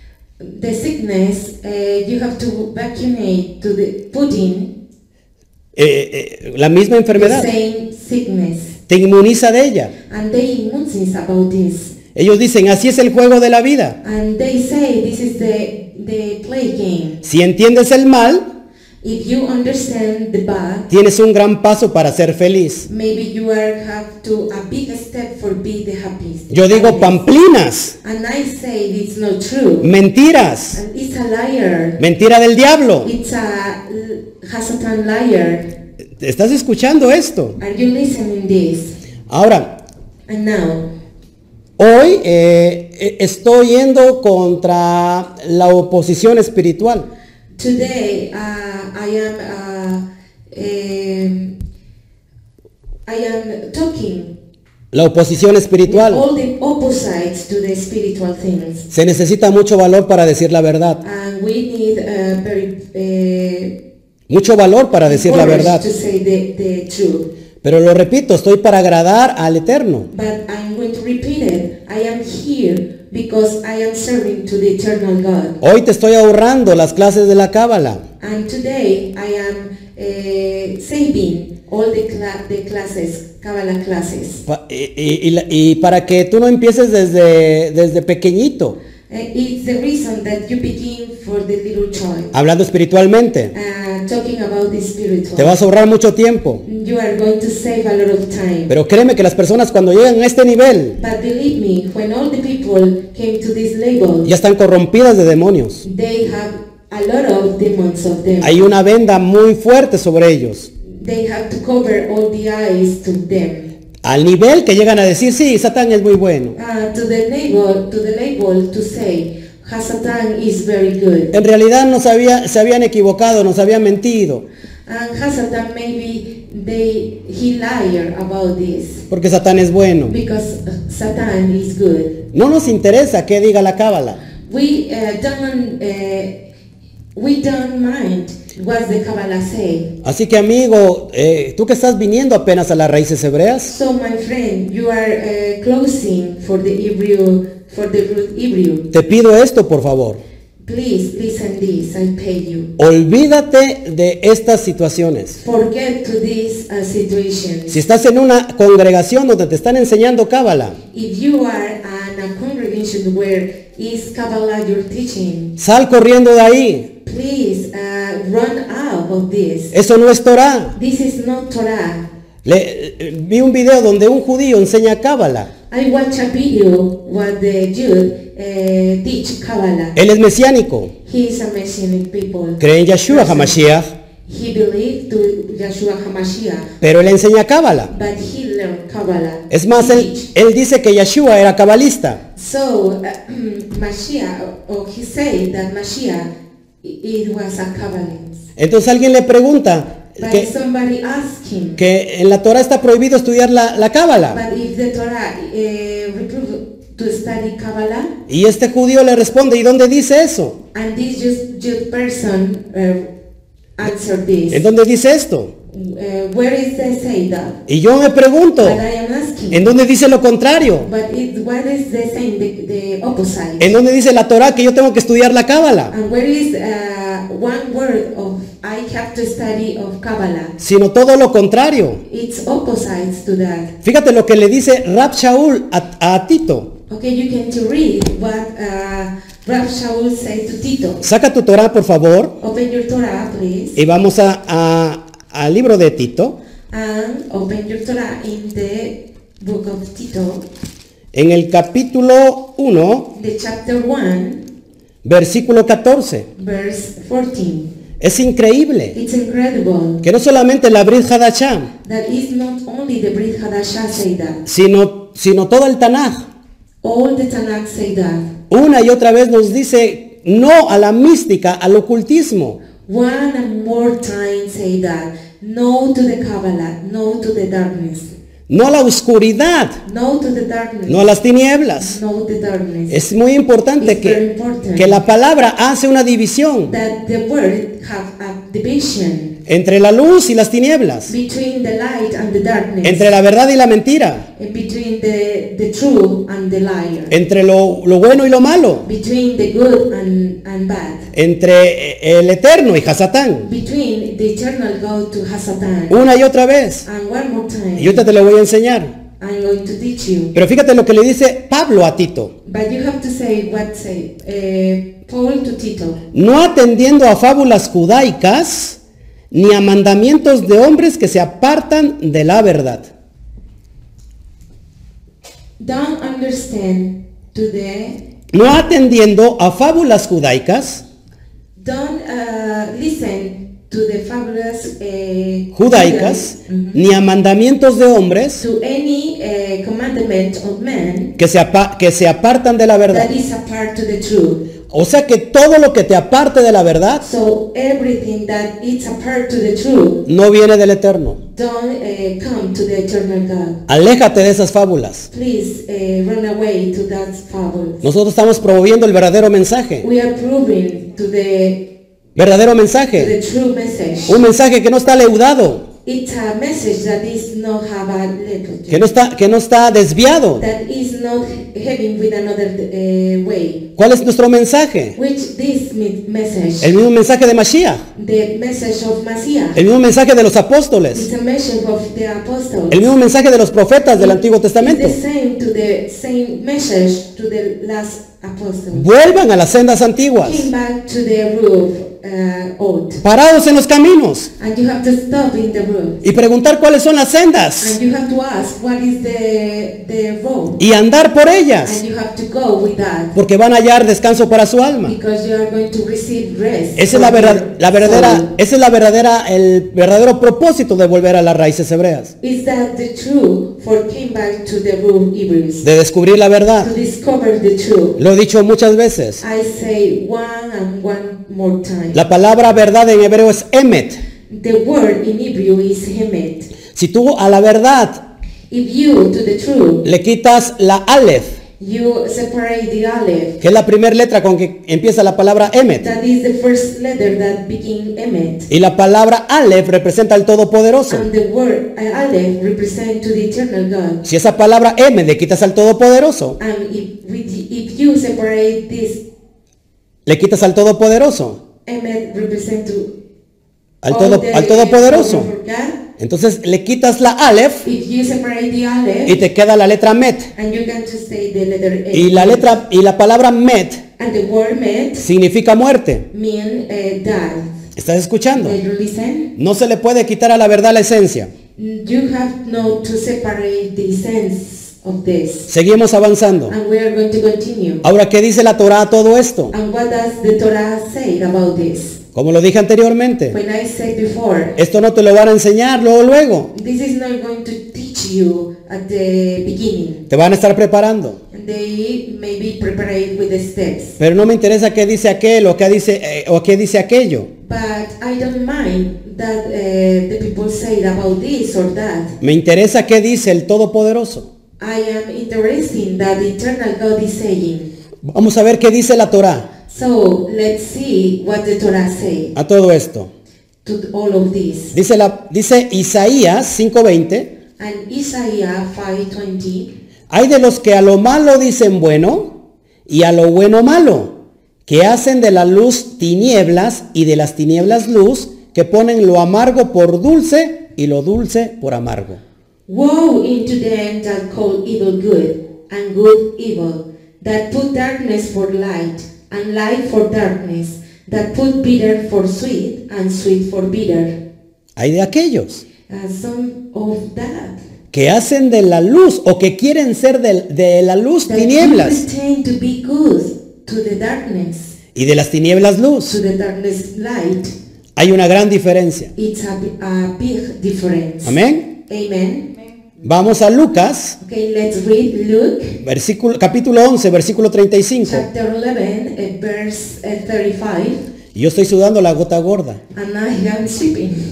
The sickness, uh, you have to vaccinate to the putting Eh, eh, la misma the enfermedad. same sickness. Te inmuniza de ella. And they immunizes about this. Ellos dicen, así es el juego de la vida. And they say this is the the play game. Si entiendes el mal, If you understand the bad, tienes un gran paso para ser feliz. maybe you are have to a big step for be the happiest. Yo digo pamplinas, And I say it's not true. mentiras, And it's a liar. mentira del diablo. It's a Hasatan liar. ¿Estás escuchando esto? Are you listening this? Ahora, And now, hoy eh, estoy yendo contra la oposición espiritual. today uh, I am uh, um, I am talking La oposición with espiritual. all the opposites to the spiritual things. Se necesita mucho valor para decir la verdad. And we need uh, very uh, Mucho valor para decir la courage verdad. to say the, the truth. Pero lo repito, estoy para agradar al Eterno. But I'm going to repeat it. I am here because I am serving to the eternal God. Hoy te estoy ahorrando las clases de la Cábala. And today I am uh, saving all the, cla the classes, Kabbalah classes. Pa- y, y- y la- y para que tú no empieces desde, desde pequeñito, Uh, it's the reason that you begin for the little child. hablando espiritualmente. Uh, talking about the spiritual. Te vas a ahorrar mucho tiempo. You are going to save a lot of time. Pero créeme que las personas cuando llegan a este nivel But believe me, when all the people came to this level, ya están corrompidas de demonios. they have a lot of demons of them. Hay una venda muy fuerte sobre ellos. They have to cover all the eyes to them. Al nivel que llegan a decir, sí, Satán es muy bueno. Uh, to the label, to the label to say, Hasatan is very good. En realidad no se, había- se habían equivocado, nos habían mentido. And Hasatan maybe they he liar about this Porque Satán es bueno. because uh, Satan is good. No nos interesa qué diga la Cábala. We uh, don't uh, we don't mind what the Kabbalah say. Así que amigo, eh, tú que estás viniendo apenas a las raíces hebreas, So my friend, you are uh, closing for the Hebrew for the root Hebrew. te pido esto por favor. Please listen this. I pay you. Olvídate de estas situaciones. Forget to this uh, situation. Si estás en una congregación donde te están enseñando Cábala, If you are in a congregation where is Kabbalah your teaching, sal corriendo de ahí. please uh, run out of this. Eso no es Torah. This is not Torah. Le- eh, vi un video donde un judío enseña Cábala. I watch a video what the Jude uh, teach Kabbalah. Él es mesiánico. He is a Messianic people. Cree en Yeshua HaMashiach, He believed to Yeshua HaMashiach, pero él enseña Cábala. but he learned Kabbalah. Es más, He él, teach. él dice que Yeshua era cabalista. So uh, Mashiach, or he said that Mashiach, it was a Kabbalist. Entonces alguien le pregunta But que, somebody asked him, que en la Torah está prohibido estudiar la, la Cábala. but if the Torah uh, reprove to study Kabbalah, Y este judío le responde, ¿y dónde dice eso? and this just, just person uh, answered this, ¿En dónde dice esto? uh, where is they say that? Y yo me pregunto, But I am asking, ¿en dónde dice lo contrario? but it, what is they saying, the, the opposite? ¿En dónde dice la Torah que yo tengo que estudiar la Cábala? And where is uh, one word of I have to study of Kabbalah? Sino todo lo contrario. It's opposites to that. Fíjate lo que le dice Rab Shaul a, a Tito. Okay, you can to read what uh, Rav Shaul said to Tito. Saca tu Torah, por favor, Open your Torah, please, y vamos a, a- al libro de Tito, and open your Torah in the book of Tito, en el capítulo uno, the chapter one, versículo catorce. verse fourteen. Es increíble It's incredible que no solamente la Brit Hadashah, that is not only the Brit Hadashah say that, sino, sino todo el Tanaj, all the Tanakh say that. una y otra vez nos dice no a la mística, al ocultismo. One and more time say that. No to the Kabbalah, no to the darkness, No a la oscuridad, no to the darkness, no a las tinieblas. no the darkness. Es muy importante It's very que, important. que la palabra hace una división That the word have a division entre la luz y las tinieblas, between the light and the darkness, entre la verdad y la mentira, and between the, the true and the liar, entre lo, lo bueno y lo malo, between the good and, and bad, entre el eterno y Hasatán. between the eternal God to Hasatan. Una y otra vez. And one more time, Y ahorita te lo voy a enseñar. I'm going going to teach you. Pero fíjate lo que le dice Pablo a Tito. But you have to say what say uh, Paul to Tito. No atendiendo a fábulas judaicas ni a mandamientos de hombres que se apartan de la verdad. Don't understand to the No atendiendo a fábulas judaicas, don't uh, listen to the fabulous uh, judaicas, Mhm. ni a mandamientos de hombres to any uh, commandment of man que se, apa- que se apartan de la verdad. that is apart to the truth. O sea que todo lo que te aparte de la verdad So everything that is apart to the truth no viene del Eterno. don't uh, come to the eternal God. Aléjate de esas fábulas. Please uh, run away to that fable. Nosotros estamos promoviendo el verdadero mensaje. We are proving to the Verdadero to the mensaje. true message. Un mensaje que no está leudado, It's a message that is not have a level, que no está, que no está desviado. that is not having with another uh, way. ¿Cuál es nuestro mensaje? Which this me- message, El mismo mensaje de Mashiach. the message of Messiah, El mismo mensaje de los apóstoles. it's a message of the apostles. El mismo mensaje de los profetas del Antiguo Testamento. It's the same to the same message to the last apostles. Vuelvan a las sendas antiguas, Came back to the roof uh, old, parados en los caminos and you have to stop in the roof, y preguntar cuáles son las sendas and you have to ask what is the the road, y andar por ellas, and you have to go with that. porque van a hallar descanso para su alma. Because you are going to receive rest. Esa es la, from verdad, your la verdadera, soul. esa es la verdadera, el verdadero propósito de volver a las raíces hebreas, Is that the truth for came back to the root Hebrews de descubrir la verdad. to discover the truth? Lo he dicho muchas veces. I say one and one more time. La palabra verdad en hebreo es emet. The word in Hebrew is hemet. Si tú a la verdad If you to the truth le quitas la aleph, you separate the aleph, que es la primera letra con que empieza la palabra emet, that is the first letter that begin emet, y la palabra aleph representa al Todopoderoso. and the word uh, aleph represent to the eternal God. Si esa palabra emet le quitas al Todopoderoso, And if with, if you separate this le quitas al Todopoderoso, emet represent to al, all todo, the al Todopoderoso. for God. Entonces le quitas la aleph If you separate the aleph, y te queda la letra met. and you can just say the letter A. Y la letra y la palabra met And the word met significa muerte. mean uh, death. ¿Estás escuchando? Did you listen? No se le puede quitar a la verdad la esencia. You have no to separate the sense of this. Seguimos avanzando. And we are going to continue. Ahora, ¿qué dice la Torá a todo esto? And what does the Torah say about this? Como lo dije anteriormente, When I said before, esto no te lo van a enseñar luego luego. this is not going to teach you at the beginning. Te van a estar preparando. And they may be prepared with the steps. Pero no me interesa qué dice aquel o qué dice eh, o qué dice aquello. But I don't mind that uh, the people say about this or that. Me interesa qué dice el Todopoderoso. I am interested in that the eternal God is saying. Vamos a ver qué dice la Torá So let's see what the Torah say a todo esto. to all of this. Dice, la, dice Isaías cinco veinte. And Isaiah five twenty, Hay de los que a lo malo dicen bueno y a lo bueno malo, que hacen de la luz tinieblas y de las tinieblas luz, que ponen lo amargo por dulce y lo dulce por amargo. woe into them that call evil good and good evil, that put darkness for light and light for darkness, that put bitter for sweet and sweet for bitter. Hay de aquellos Uh, some of that. que hacen de la luz o que quieren ser de, de la luz That tinieblas you pretend to be good to the darkness, y de las tinieblas to luz. the darkness light. Hay una gran diferencia. It's a, bi- a big difference. Amén. Amen. Vamos a Lucas, Okay, let's read Luke versículo, capítulo once, versículo treinta y cinco. chapter eleven, uh, verse uh, thirty-five, Y yo estoy sudando la gota gorda. and I am sleeping.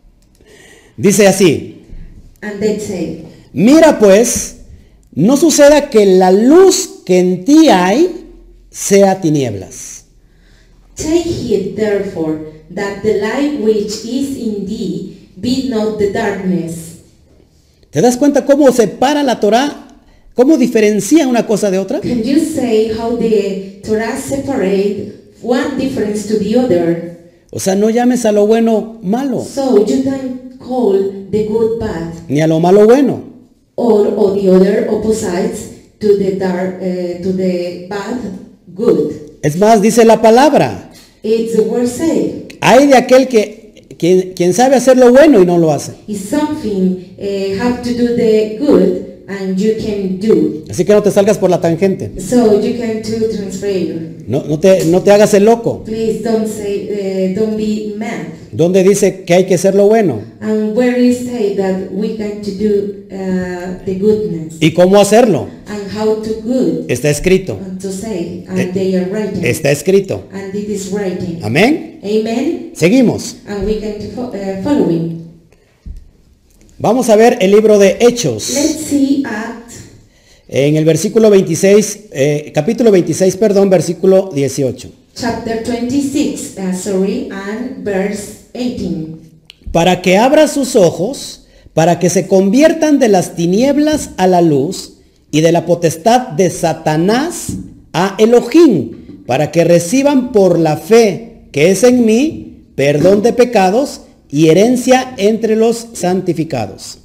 Dice así: And they say, mira pues, no suceda que la luz que en ti hay sea tinieblas. take heed therefore that the light which is in thee be not the darkness. ¿Te das cuenta cómo separa la Torá? ¿Cómo diferencia una cosa de otra? Can you say how the Torah separate one difference to the other? O sea, no llames a lo bueno malo, So you don't call the good bad ni a lo malo bueno. or, or the other opposites to the dark, uh, to the bad, good. Es más, dice la palabra, It's the word say. hay de aquel que quien, quien sabe hacer lo bueno y no lo hace. It's something uh, have to do the good and you can do. Así que no te salgas por la tangente. So you can do transfer. No, no, te, no te hagas el loco. Please don't say, uh, don't be mad. ¿Dónde dice que hay que hacer lo bueno? And where is say that we can to do uh, the goodness ¿Y cómo hacerlo? and how to good Está escrito. and to say and Eh, they are writing Está escrito. and it is writing. Amén. Amen. Seguimos. And we can fo- uh, following. Vamos a ver el libro de Hechos. Let's see Act En el versículo veintiséis, eh, capítulo veintiséis, perdón, versículo dieciocho. chapter twenty-six, uh, sorry, and verse eighteen. Para que abra sus ojos, para que se conviertan de las tinieblas a la luz y de la potestad de Satanás a Elohim, para que reciban por la fe que es en mí perdón de pecados y herencia entre los santificados.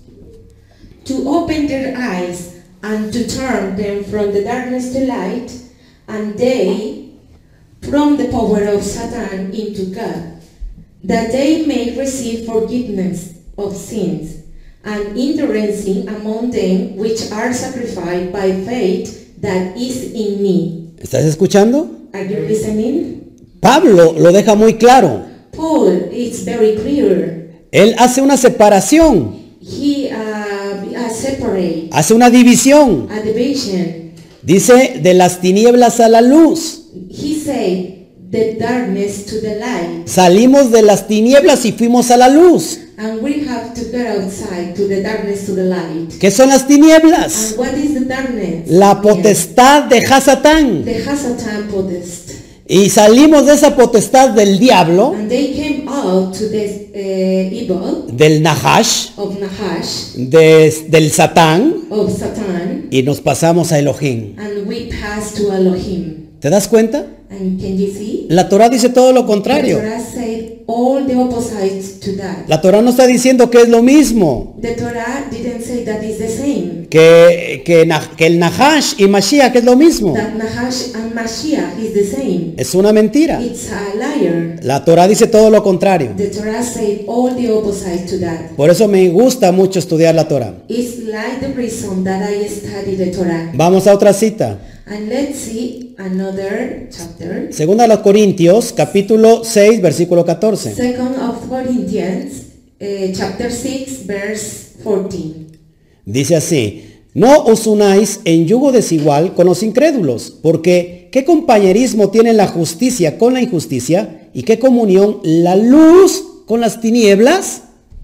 To open their eyes and to turn them from the darkness to light, and they from the power of Satan into God, that they may receive forgiveness of sins and entering among them which are sanctified by faith that is in me. ¿Estás escuchando? Are you listening? Pablo lo deja muy claro. Paul is very clear. Él hace una separación, He uh, uh, separate hace una división. a division. Dice de las tinieblas a la luz. He said the darkness to the light, Salimos de las tinieblas y fuimos a la luz. and we have to go outside to the darkness to the light. ¿Qué son las tinieblas? And what is the darkness? La potestad de Hasatán. The Hasatan potest. Y salimos de esa potestad del diablo, And they came out to the uh, evil del Nahash, of Nahash, de- del Satán, of Satan, y nos pasamos a Elohim. and we passed to Elohim. ¿Te das cuenta? And can you see? La Torah dice todo lo The contrario. Torah said all the opposites to that. La Torah no está diciendo que es lo mismo, The Torah didn't say that is the same. que, que, Na- que el Nahash y Mashiach es lo mismo. That Nahash and Mashiach is the same. Es una mentira. It's a liar. La Torah dice todo lo contrario. The Torah said all the opposite to that. Por eso me gusta mucho estudiar la Torah. It's like the reason that I study the Torah. Vamos a otra cita. And let's see another chapter. Segunda a los Corintios, capítulo seis, versículo catorce. Second of Corinthians, uh, chapter six, verse fourteen. Dice así: no os unáis en yugo desigual con los incrédulos, porque ¿qué compañerismo tiene la justicia con la injusticia? ¿Y qué comunión la luz con las tinieblas?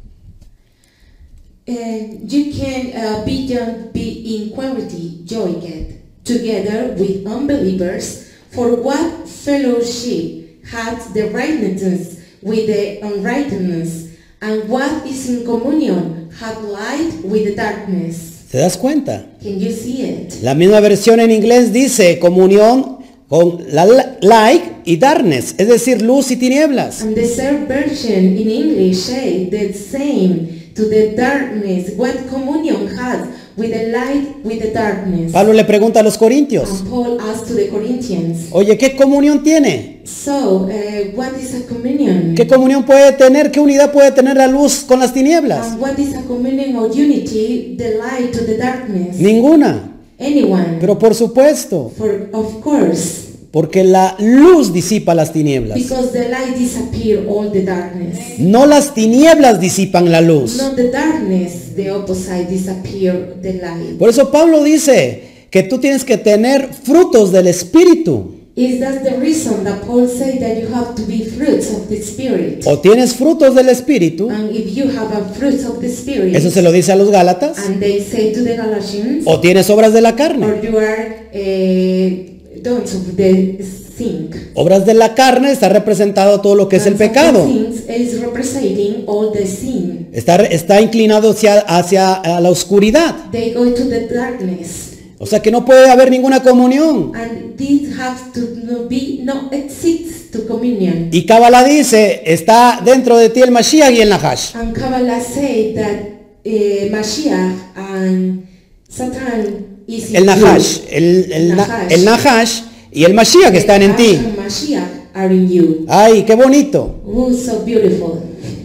And you can uh, be, young, be in quality joined together with unbelievers, for what fellowship hath the righteousness with the unrighteousness, and what is in communion hath light with the darkness? ¿Te das cuenta? Can you see it? La misma versión en inglés dice comunión con la la- light y darkness, es decir, luz y tinieblas. And the third version in English say the same to the darkness. What communion hath with the light with the darkness? Pablo le pregunta a los corintios: And Paul asked to the Corinthians, oye, ¿qué comunión tiene? so uh, what is a communion? ¿Qué comunión puede tener, qué unidad puede tener la luz con las tinieblas? And what is a communion or unity, the light to the darkness? Ninguna. Anyone. Pero por supuesto, For, of course, porque la luz disipa las tinieblas. because the light disappear all the darkness. No las tinieblas disipan la luz. Not the darkness, the opposite disappear the light. Por eso Pablo dice que tú tienes que tener frutos del Espíritu. Is that the reason that Paul said that you have to be fruits of the Spirit? O tienes frutos del Espíritu, And if you have a fruits of the Spirit, eso se lo dice a los Gálatas, and they say to the Galatians, o tienes obras de la carne. or you are uh, dons of the sin. Obras de la carne está representado todo lo que es el And some pecado. things is representing all the sin. Está, está inclinado hacia, hacia a la oscuridad. They go to the darkness. O sea que no puede haber ninguna comunión. And this has to no be, no exists to communion. Y Kabbalah dice, está dentro de ti el Mashiach y el Nahash. And Kabbalah say that uh, Mashiach and Satan is in El Nahash, you. el, el, na- Nahash. el Nahash y el Mashiach que están en Nahash ti. and Mashiach are in you. Ay, qué bonito. Oh, so beautiful.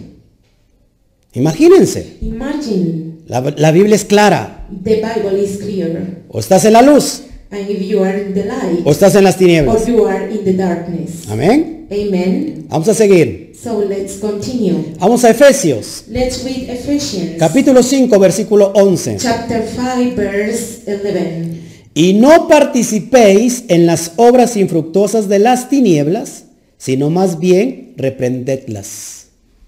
Imagínense, Imagine la, la Biblia es clara. the Bible is clear. O estás en la luz And if you are in the light, o estás en las or tinieblas. you are in the darkness. Amén. Amen. Vamos a seguir. So let's continue. Vamos a Efesios, Let's read Ephesians capítulo cinco, versículo once. chapter five, verse eleven. Y no participéis en las obras infructuosas de las tinieblas, sino más bien reprendedlas.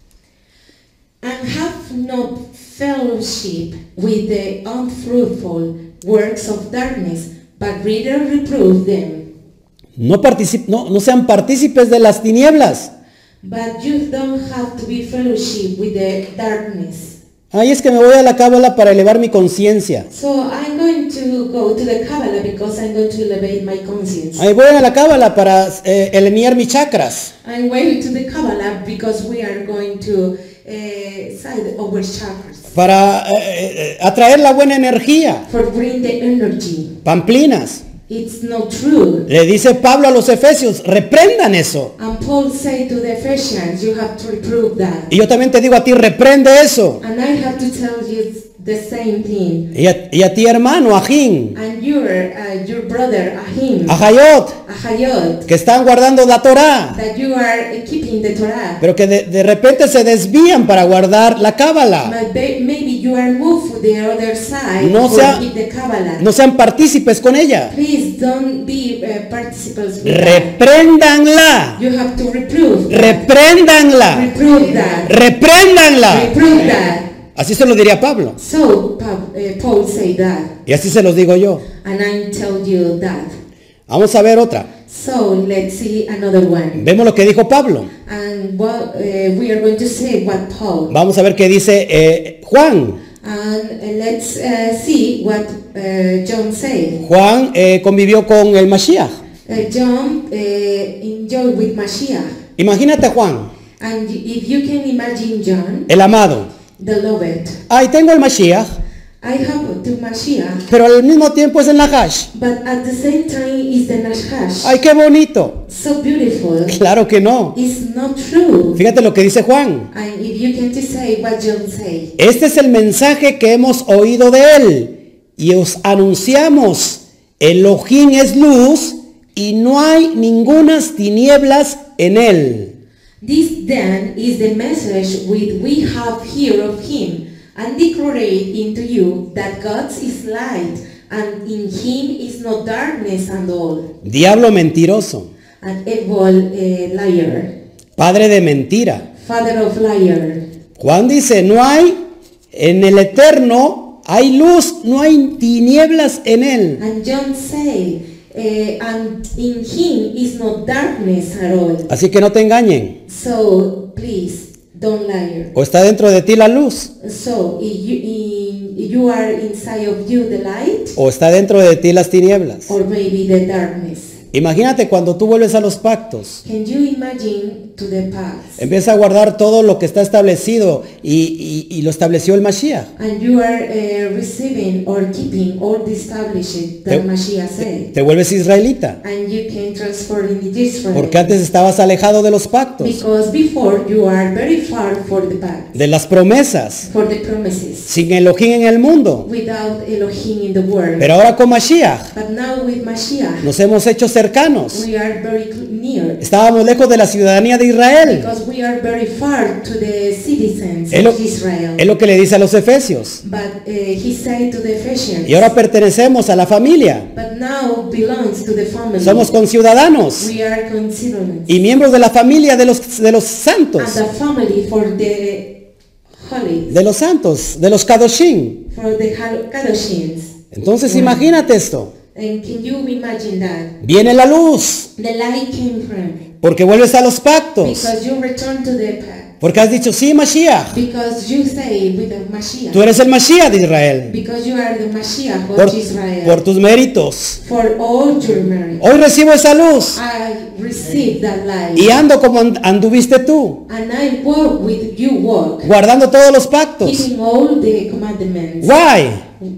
And have no fellowship with the unfruitful works of darkness, but rather reprove them. No, particip- no, no sean partícipes de las tinieblas. But you don't have to be fellowship with the darkness. Ay, es que me voy a la cábala para elevar mi conciencia. So I'm going to go to the Kabbalah because I'm going to elevate my conscience. Ay, voy a la cábala para eh, alinear mis chakras. I'm going to the Kabbalah because we are going to uh, side our chakras. Para eh, eh, atraer la buena energía. For bring the energy. Pamplinas. It's not true. Le dice Pablo a los Efesios, reprendan eso. And Paul said to the Ephesians, you have to reprove that. Y yo también te digo a ti, reprende eso. And I have to tell you the same thing. Y a, y a ti, hermano, Ajín, And your, uh, your brother Ahim, a Jayot, Ahayot, que están guardando la Torá, that you are keeping the Torah. pero que de, de repente se desvían para guardar la cábala. But they, maybe you are moved to the other side No for sea- keep the Kabbalah. No sean partícipes con ella. Please don't be uh, participants with that. Repréndanla. You have to reprove that. Repréndanla. Reprove that. Repréndanla. Reprove that. Así se lo diría Pablo. So Pa- uh, Paul say that, Y así se los digo yo. and I tell you that. Vamos a ver otra. So let's see another one. Vemos lo que dijo Pablo. And what uh, we are going to say what Paul. Vamos a ver qué dice eh, Juan. And uh, let's uh, see what uh, John said. Juan eh, convivió con el Mashiach. Uh, John uh, enjoyed with Mashiach. Imagínate a Juan, And if you can imagine John, el amado. the Loved, Ay, tengo el Mashiach, I have to Mashiach, pero al mismo tiempo es el Nahash. but at the same time is the Nahash. Ay, qué bonito. So beautiful. Claro que no. It's not true. Fíjate lo que dice Juan. And if you can just say what John say, Este es el mensaje que hemos oído de él y os anunciamos. Elohim es luz y no hay ningunas tinieblas en él. this then is the message which we have heard of him, and declare into you that God is light, and in him is no darkness at all. Diablo mentiroso, An evil uh, liar, padre de mentira. father of liar. Juan dice, no hay en el eterno, hay luz, no hay tinieblas en él. And John say, uh, and in him is no darkness at all. Así que no te engañen. So please don't lie. O está dentro de ti la luz, So if you, in, you are inside of you the light, o está dentro de ti las tinieblas. or maybe the darkness. Imagínate cuando tú vuelves a los pactos. Can you imagine to the past? Empieza a guardar todo lo que está establecido y, y- y lo estableció el Mashiach. And you are uh, receiving or keeping all the established that Te- Mashiach said. Te vuelves israelita. And you can transfer in Israel. Porque antes estabas alejado de los pactos, Because before you are very far for the pact, de las promesas, for the promises, sin Elohim en el mundo. without Elohim in the world. Pero ahora con Mashiach But now with Mashiach, nos hemos hecho cercanos. we are very cl- near. Estábamos lejos de la ciudadanía de Israel. Because we are very far to the citizens Es lo, of Israel. es lo que le dice a los Efesios. But uh, he said to the Ephesians, Y ahora pertenecemos a la familia. but now belongs to the family. Somos conciudadanos We are considered y miembros de la familia de los, de los and santos. the family for the holy, De los santos, de los Kadoshim. for the Hal- Kadoshins. Entonces imagínate esto. And can you imagine that? Viene la luz The light came from porque vuelves a los pactos. because you return to the path. Porque has dicho, sí, Mashiach. Because you say with the Mashiach. Tú eres el Mashiach de Israel. Because you are the Mashiach of Por, Israel. por tus méritos. For all your merit. Hoy recibo esa luz. I received that light. Y ando como and- anduviste tú. And I walk with you walk. Guardando todos los pactos. Keeping all the commandments. Why?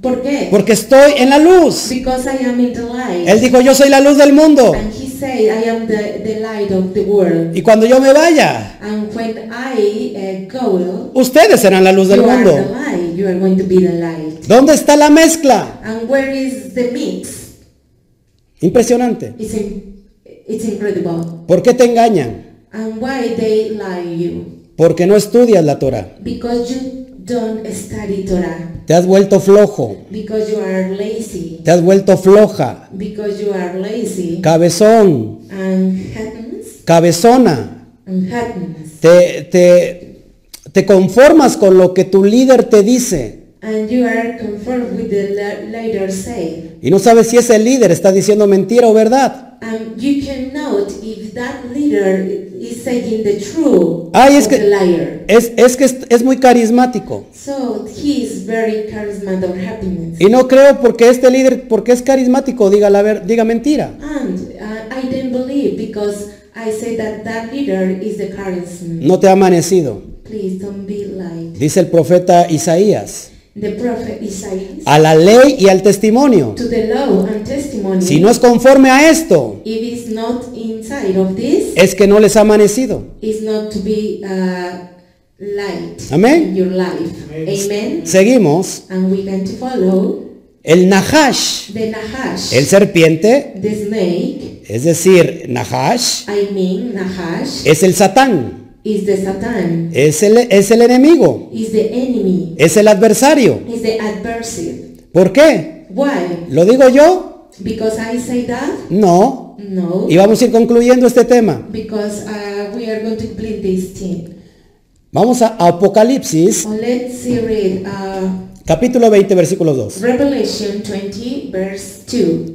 ¿Por qué? Porque estoy en la luz. Because I am in the light. Él dijo, yo soy la luz del mundo. And he said, I am the, the light of the world. Y cuando yo me vaya, And when I uh, go, ustedes serán la luz del you are mundo. the light. You are going to be the light. ¿Dónde está la mezcla? And where is the mix? Impresionante. It's, in, it's incredible. ¿Por qué te engañan? And why they lie you? Porque no estudias la Torah. Because you don't study Torah. Te has vuelto flojo. Because you are lazy. Te has vuelto floja. Because you are lazy. Cabezón. And happens. Cabezona. And happens. Te, te, te conformas con lo que tu líder te dice. And you are conformed with the leader say. Y no sabes si ese líder está diciendo mentira o verdad. Um, you can note if that leader is saying the truth Ay, es of que, the liar. es, es que es, es muy carismático. So he is very charismatic of happiness. Y no creo porque este líder, porque es carismático, diga, la ver, diga mentira. And uh, I didn't believe because I say that that leader is the charisma. No te ha amanecido. Please don't be like Dice el profeta Isaías. the prophet Isaiah. A la ley y al testimonio. To the law and testimony. Si no es conforme a esto, If it's not inside of this, es que no les ha amanecido. it's not to be uh, light Amén. in your life. Amen. Seguimos. And we can to follow El Nahash, the Nahash, el serpiente, the snake. es decir, Nahash, I mean Nahash es el Satán, is the Satan, es el, es el enemigo, is the enemy, es el adversario. is the adversary. ¿Por qué? Why? ¿Lo digo yo? Because I say that? No. No. Y vamos a ir concluyendo este tema. Because uh, we are going to complete this thing. Vamos a Apocalipsis, Oh, let's see, read uh, capítulo veinte, versículo dos. Revelation twenty, verse two.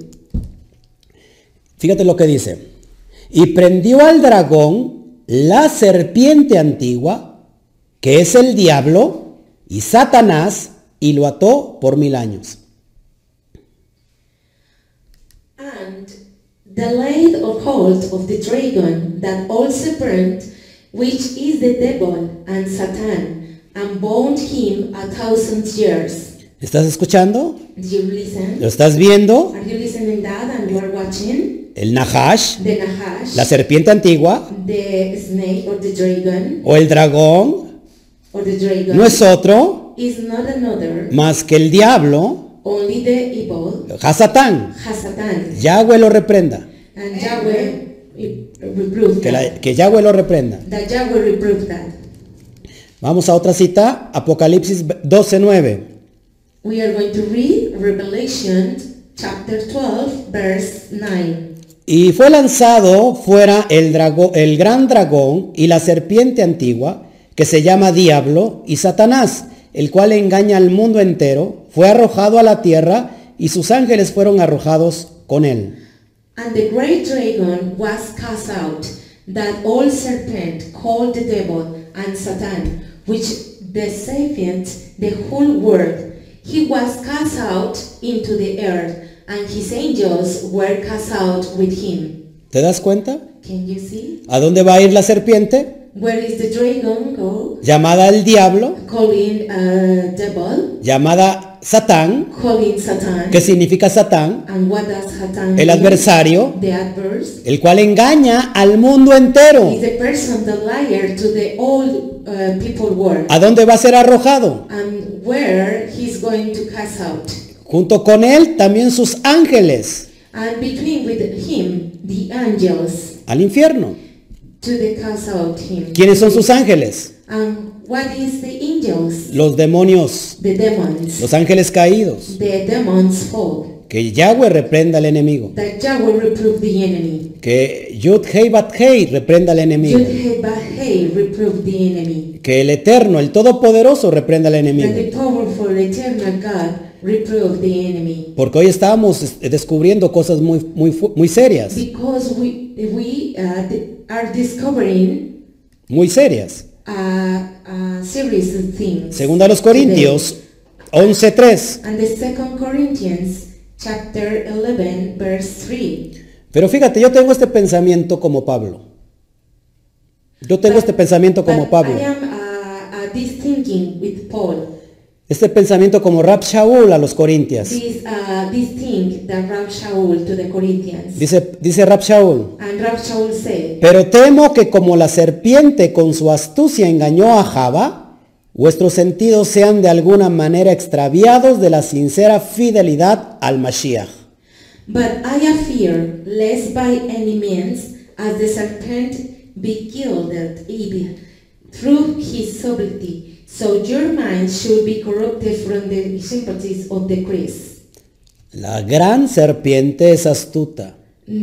Fíjate lo que dice. Y prendió al dragón, la serpiente antigua, que es el diablo y Satanás, y lo ató por mil años. And the laid of hold of the dragon, that old serpent, which is the devil and Satan, and bound him a thousand years. ¿Estás escuchando? Do you listen? ¿Lo estás viendo? Are you listening that and you are watching? El Nahash, The Nahash, la serpiente antigua, the snake or the dragon, o el dragón, or the dragon, no es otro is not another, más que el diablo, only the evil, Hasatán. Hasatan. Yahweh lo reprenda. And Yahweh reproved Que, that. la- que Yahweh lo reprenda. That Yahweh reproved that. Vamos a otra cita, Apocalipsis doce nueve. We are going to read Revelation chapter twelve, verse nine. Y fue lanzado fuera el, drago- el gran dragón y la serpiente antigua, que se llama Diablo y Satanás, el cual engaña al mundo entero, fue arrojado a la tierra y sus ángeles fueron arrojados con él. And the great dragon was cast out, that old serpent called the devil and Satan, which deceiveth the whole world. He was cast out into the earth, and his angels were cast out with him. ¿Te das cuenta? Can you see? ¿A dónde va a ir la serpiente? Where is the dragon go? Llamada el diablo, Calling uh, devil, llamada Satán, calling Satan. que significa Satán, And what does Satan el do? adversario, The adverse el cual engaña al mundo entero. is the person, the liar to the old uh, people world. ¿A dónde va a ser arrojado? And where he's going to cast out. Junto con él también sus ángeles And between with him, the angels, al infierno. to the cast out him. ¿Quiénes son sus ángeles? And what is the angels? Los demonios, The demons. los ángeles caídos. The demons fall. Que Yahweh reprenda al enemigo. That Yahweh reprove the enemy. Que Yud Hei Bat Hei reprenda al enemigo. Yud-Heh-Bah-Heh reprove the enemy. Que el Eterno, el Todopoderoso, reprenda al That enemigo. the powerful eternal God reprove the enemy. Porque hoy estábamos eh, descubriendo cosas muy, muy, fu- muy serias. Because we we uh, d- are discovering Muy serias. a, a series of things. Segunda a los Corintios once tres. And the second Corinthians chapter eleven verse three. Pero fíjate, yo tengo este pensamiento como Pablo. Yo tengo But- este pensamiento como but Pablo. I am uh, uh, this thinking with Paul. Este pensamiento como Rab Shaul a los corintios. This, uh, this thing that Rab Shaul to the Corinthians. Dice, dice Rab Shaul, And Rab Shaul said, pero temo que como la serpiente con su astucia engañó a Java, vuestros sentidos sean de alguna manera extraviados de la sincera fidelidad al Mashiach. but I fear, lest by any means, as the serpent be killed at Eve through his subtlety, so your mind should be corrupted from the sympathies of the Christ. La gran serpiente es astuta.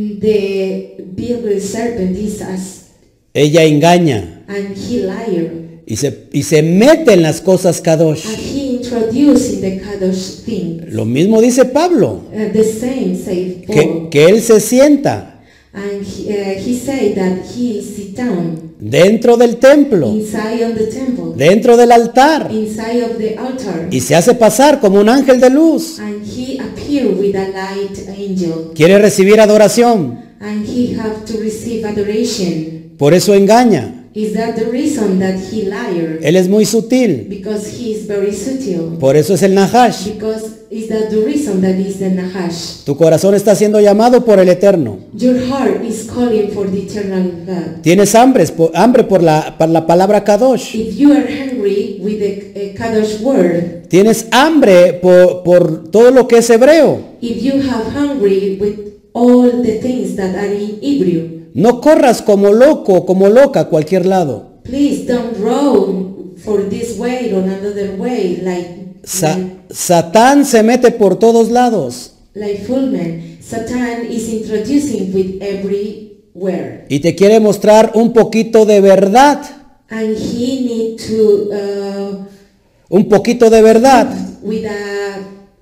The big serpent is us, Ella engaña and he liar, y se, y se mete en las cosas kadosh. and he introduced in the kadosh thing. Lo mismo dice Pablo, Uh, the same said que, Paul, que él se sienta and he, uh, he said that he sit down dentro del templo, inside of the temple, dentro del altar, inside of the altar, y se hace pasar como un ángel de luz. and he appeared with a light angel, Quiere recibir adoración, and he have to receive adoration. por eso engaña. Is that the reason that he liar? Él es muy sutil, Because he is very subtle. por eso es el Nahash. Because is that the reason that is the Nahash? Tu corazón está siendo llamado por el Eterno. Your heart is calling for the eternal God. Tienes hambre, por, hambre por, la, por la palabra Kadosh. If you are hungry with the uh, Kadosh word, Tienes hambre por, por todo lo que es hebreo. if you have hungry with all the things that are in Hebrew, No corras como loco, como loca a cualquier lado. please don't run for this way or another way like Sa- like, Satán se mete por todos lados like full man. Satan is introducing with everywhere, y te quiere mostrar un poquito de verdad, and he need to uh, un poquito de verdad, with a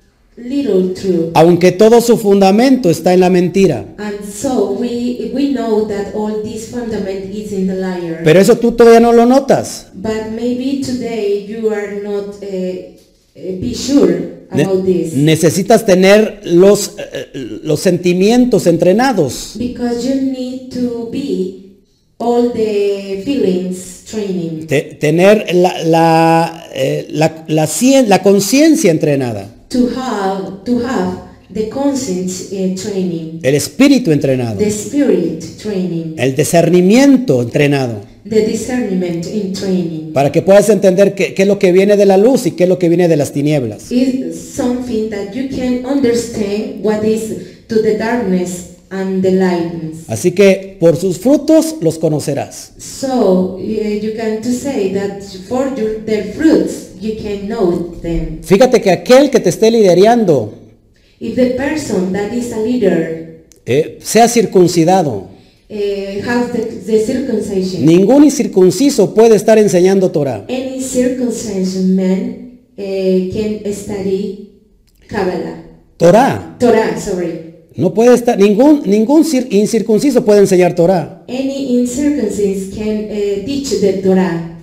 little truth. aunque todo su fundamento está en la mentira. And so we we know that all this fundament is in the liar. Pero eso tú todavía no lo notas. But maybe today you are not uh, uh, be sure Ne- about this. necesitas tener los, eh, los sentimientos entrenados. Because you need to be all the feelings training. Te- tener la, la, eh, la, la, cien- la conciencia entrenada. To have to have the conscience uh, training. El espíritu entrenado. The spirit training. El discernimiento entrenado. The discernment in training. Para que puedas entender qué, qué es lo que viene de la luz y qué es lo que viene de las tinieblas. Is something that you can understand what is to the darkness and the lightness. Así que por sus frutos los conocerás. So uh, you can to say that for your, their fruits you can know them. Fíjate que aquel que te esté liderando If the person that is a leader eh, sea circuncidado. uh, has the, the circumcision, Ningún incircunciso puede estar enseñando Torah. any circumcision man uh, can study Kabbalah. Torah. Torah, sorry. No puede estar, ningún, ningún cir- incircunciso puede enseñar Torah. Any incircumcised can uh, teach the Torah.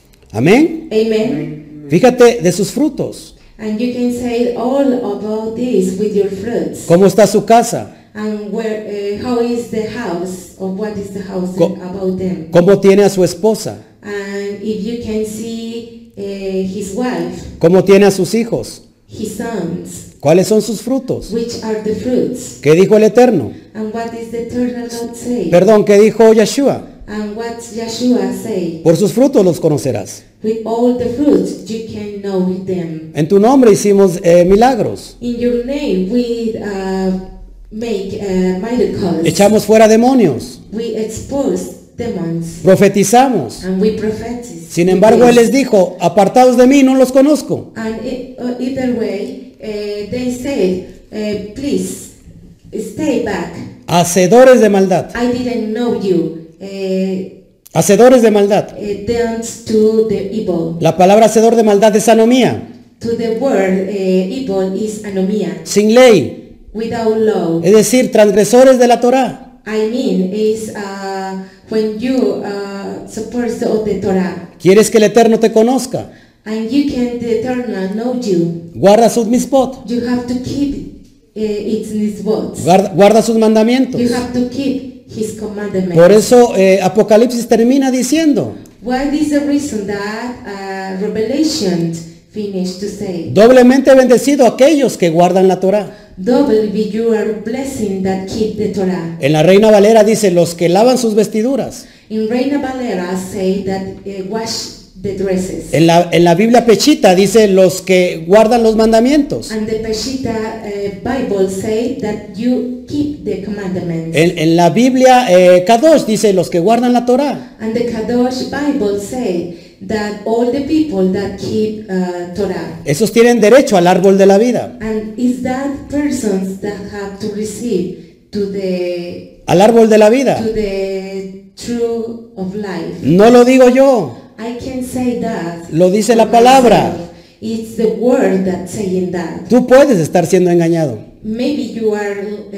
Amén. Amen. Fíjate de sus frutos. And you can say all about this with your fruits. ¿Cómo está su casa? And where, uh, how is the house, or what is the house Co- about them? ¿Cómo tiene a su esposa? And if you can see uh, his wife, ¿Cómo tiene a sus hijos? his sons, ¿Cuáles son sus frutos? which are the fruits, ¿Qué dijo el Eterno? and what is the eternal God say, Perdón, ¿qué dijo Yeshua? and what Yeshua say. Por sus frutos los conocerás. With all the fruits you can know them. En tu nombre hicimos eh, milagros. In your name we uh, make uh, miracles. Echamos fuera demonios. We expose demons, Profetizamos. and we prophesize. Sin embargo, Él les dijo, apartados de mí, no los conozco. And it, uh, either way, uh, they said, uh, please stay back. Hacedores de maldad. I didn't know you. Uh, Hacedores de maldad. uh, dance to the evil. La palabra hacedor de maldad es anomía. To the word uh, evil is anomia, Sin ley. without law. Es decir, transgresores de la Torah. I mean, is uh, when you uh, support of the Torah, ¿Quieres que el Eterno te conozca? and you can the eternal know you. Guarda sus mispot. You have to keep uh, its mitzvot. Guarda, guarda sus mandamientos. You have to keep His commandments. Por eso eh, Apocalipsis termina diciendo, What is the reason that uh, Revelation finished to say. Doblemente bendecido aquellos que guardan la Torá. Double be your blessing that keep the Torah. En la Reina Valera dice, los que lavan sus vestiduras. In Reina Valera say that uh, wash the dresses. En la, en la Biblia Pechita dice, los que guardan los mandamientos. And the Peshitta uh, Bible say that you keep the commandments. En, en la Biblia eh, Kadosh dice, los que guardan la Torá. And the Kadosh Bible say that all the people that keep uh, Torah. Esos tienen derecho al árbol de la vida. And is that persons that have to receive to the Al árbol de la vida. to the true of life. No lo digo yo, I can say that. lo dice la for palabra. myself. It's the word that's saying that. Tú puedes estar siendo engañado. Maybe you are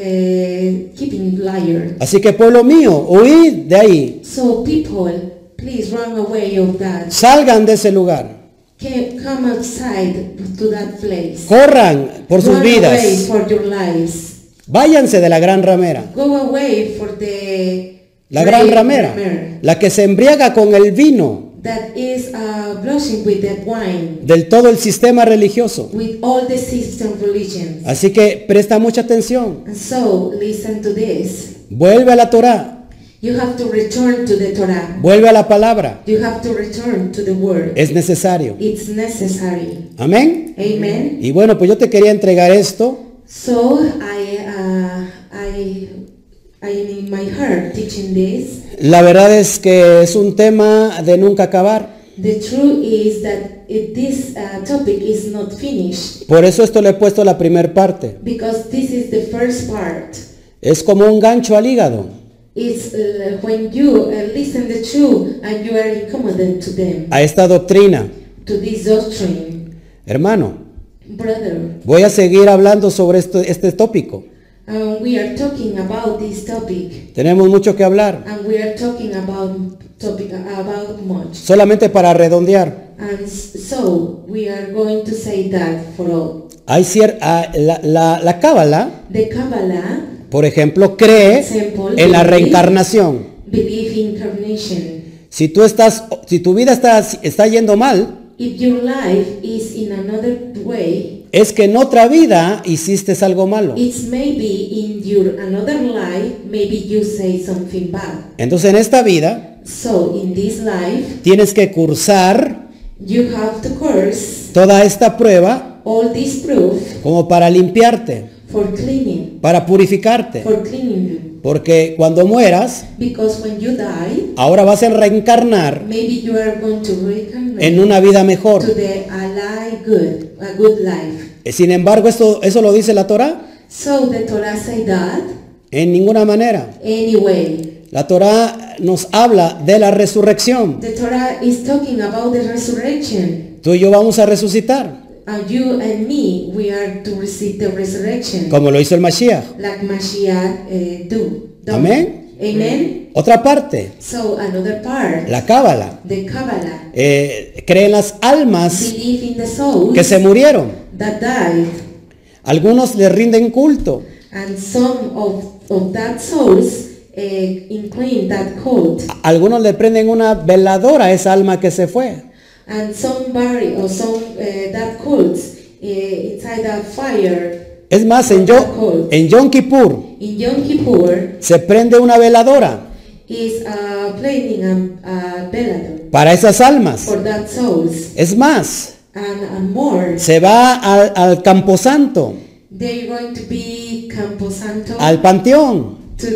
uh, keeping liar. Así que pueblo mío, huid de ahí. So people, please run away of that. Salgan de ese lugar. Can come outside to that place. Corran por sus Run away vidas. for your lives. Váyanse de la gran ramera. Go away for the La gran great ramera. ramera La que se embriaga con el vino that is uh, blushing with the wine, del todo el sistema religioso. with all the system religions. Así que presta mucha atención. And so listen to this. Vuelve a la Torá. You have to return to the Torah. Vuelve a la palabra. You have to return to the word. Es necesario. It's necessary. Amén. Amen. Y bueno, pues yo te quería entregar esto. So I, uh, I, I am in my heart teaching this. La verdad es que es un tema de nunca acabar. The truth is that if this uh, topic is not finished, Por eso esto le he puesto la primer parte. because this is the first part. Es como un gancho al hígado. It's uh, when you uh, listen the truth and you are incommodant to them, A esta doctrina. to this doctrine. Hermano, Brother, voy a seguir hablando sobre esto, este tópico. uh, we are talking about this topic, Tenemos mucho que hablar. and we are talking about topic about much. Solamente para redondear. And s- so we are going to say that for all. Hay cier- ah, la, la, la Cábala, The Kabbalah por ejemplo, cree Example, en la believe. reencarnación. believe incarnation. Si tú estás, si tu vida está, está yendo mal, If your life is in another way, es que en otra vida hiciste algo malo. it's maybe in your another life, maybe you say something bad. Entonces en esta vida So in this life, tienes que cursar you have to curse toda esta prueba all this proof como para limpiarte, for cleaning, para purificarte. for cleaning you. Porque cuando mueras, Because when you die, ahora vas a reencarnar maybe you are going to reincarnate en una vida mejor. to the alive good, a good life. Sin embargo, esto, ¿eso lo dice la Torá? So the Torah say that En ninguna manera. anyway. La Torá nos habla de la resurrección. The Torah is talking about the resurrection. Tú y yo vamos a resucitar, And you and me, we are to receive the resurrection, como lo hizo el Mashiach. like Mashiach uh, do. done. Amén. Amen. Otra parte, So another part, la Cábala, the Kabbalah, eh, cree en las almas believe in the souls que se murieron. that died, Algunos le rinden culto. and some of, of that souls uh, incline that cult, Algunos le prenden una veladora a esa alma que se fue. and somebody or some uh, that cult uh, inside that fire. Es más, en, Yo- en Yom Kippur In Yom Kippur se prende una veladora is uh, playing a, a velador para esas almas. for that souls, Es más, and, and more. se va al, al Camposanto, They're going to be Camposanto al panteón to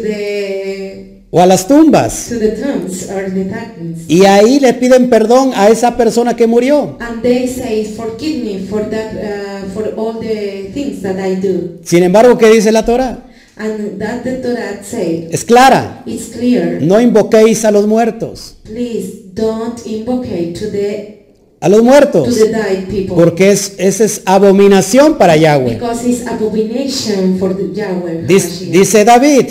the o a las tumbas. to the tombs or the darkness, Y ahí le piden perdón a esa persona que murió. and they say, "Forgive me for that, uh, for all the things that I do." Sin embargo, ¿qué dice la Torá? And that the Torah say, Es clara. it's clear. No invoquéis a los muertos. Please don't invoke to the A los to muertos. the dead people, Porque es, esa es abominación para Yahweh. because it's abomination for the Yahweh. Dice, Hamashiach. dice David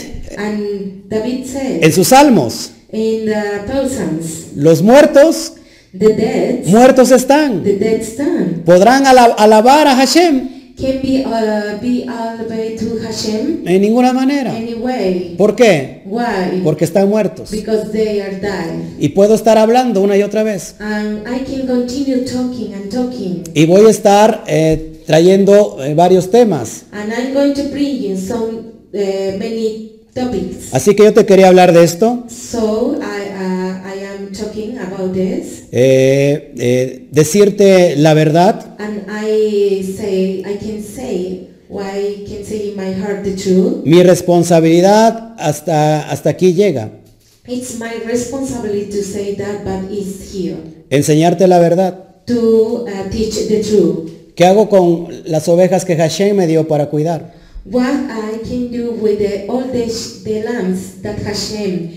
And David said en sus salmos, in the Psalms, los muertos, the dead, muertos están. the dead stand. Podrán ala- alabar a Hashem. can be uh, be all the way to Hashem En ninguna manera. anyway. ¿Por qué? Why? Porque están muertos. Because they are dead. Y puedo estar hablando una y otra vez. And I can continue talking and talking. Y voy a estar eh, trayendo eh, varios temas. And I'm going to bring you some uh, many topics. Así que yo te quería hablar de esto. So I uh, I am talking about this. Eh, eh, decirte la verdad. And I say I can say why I can say in my heart the truth. Mi responsabilidad hasta, hasta aquí llega. It's my responsibility to say that, but it's here Enseñarte la verdad. to uh, teach the truth. ¿Qué hago con las ovejas que Hashem me dio para cuidar? What I can do with the, all the, sh- the lambs that Hashem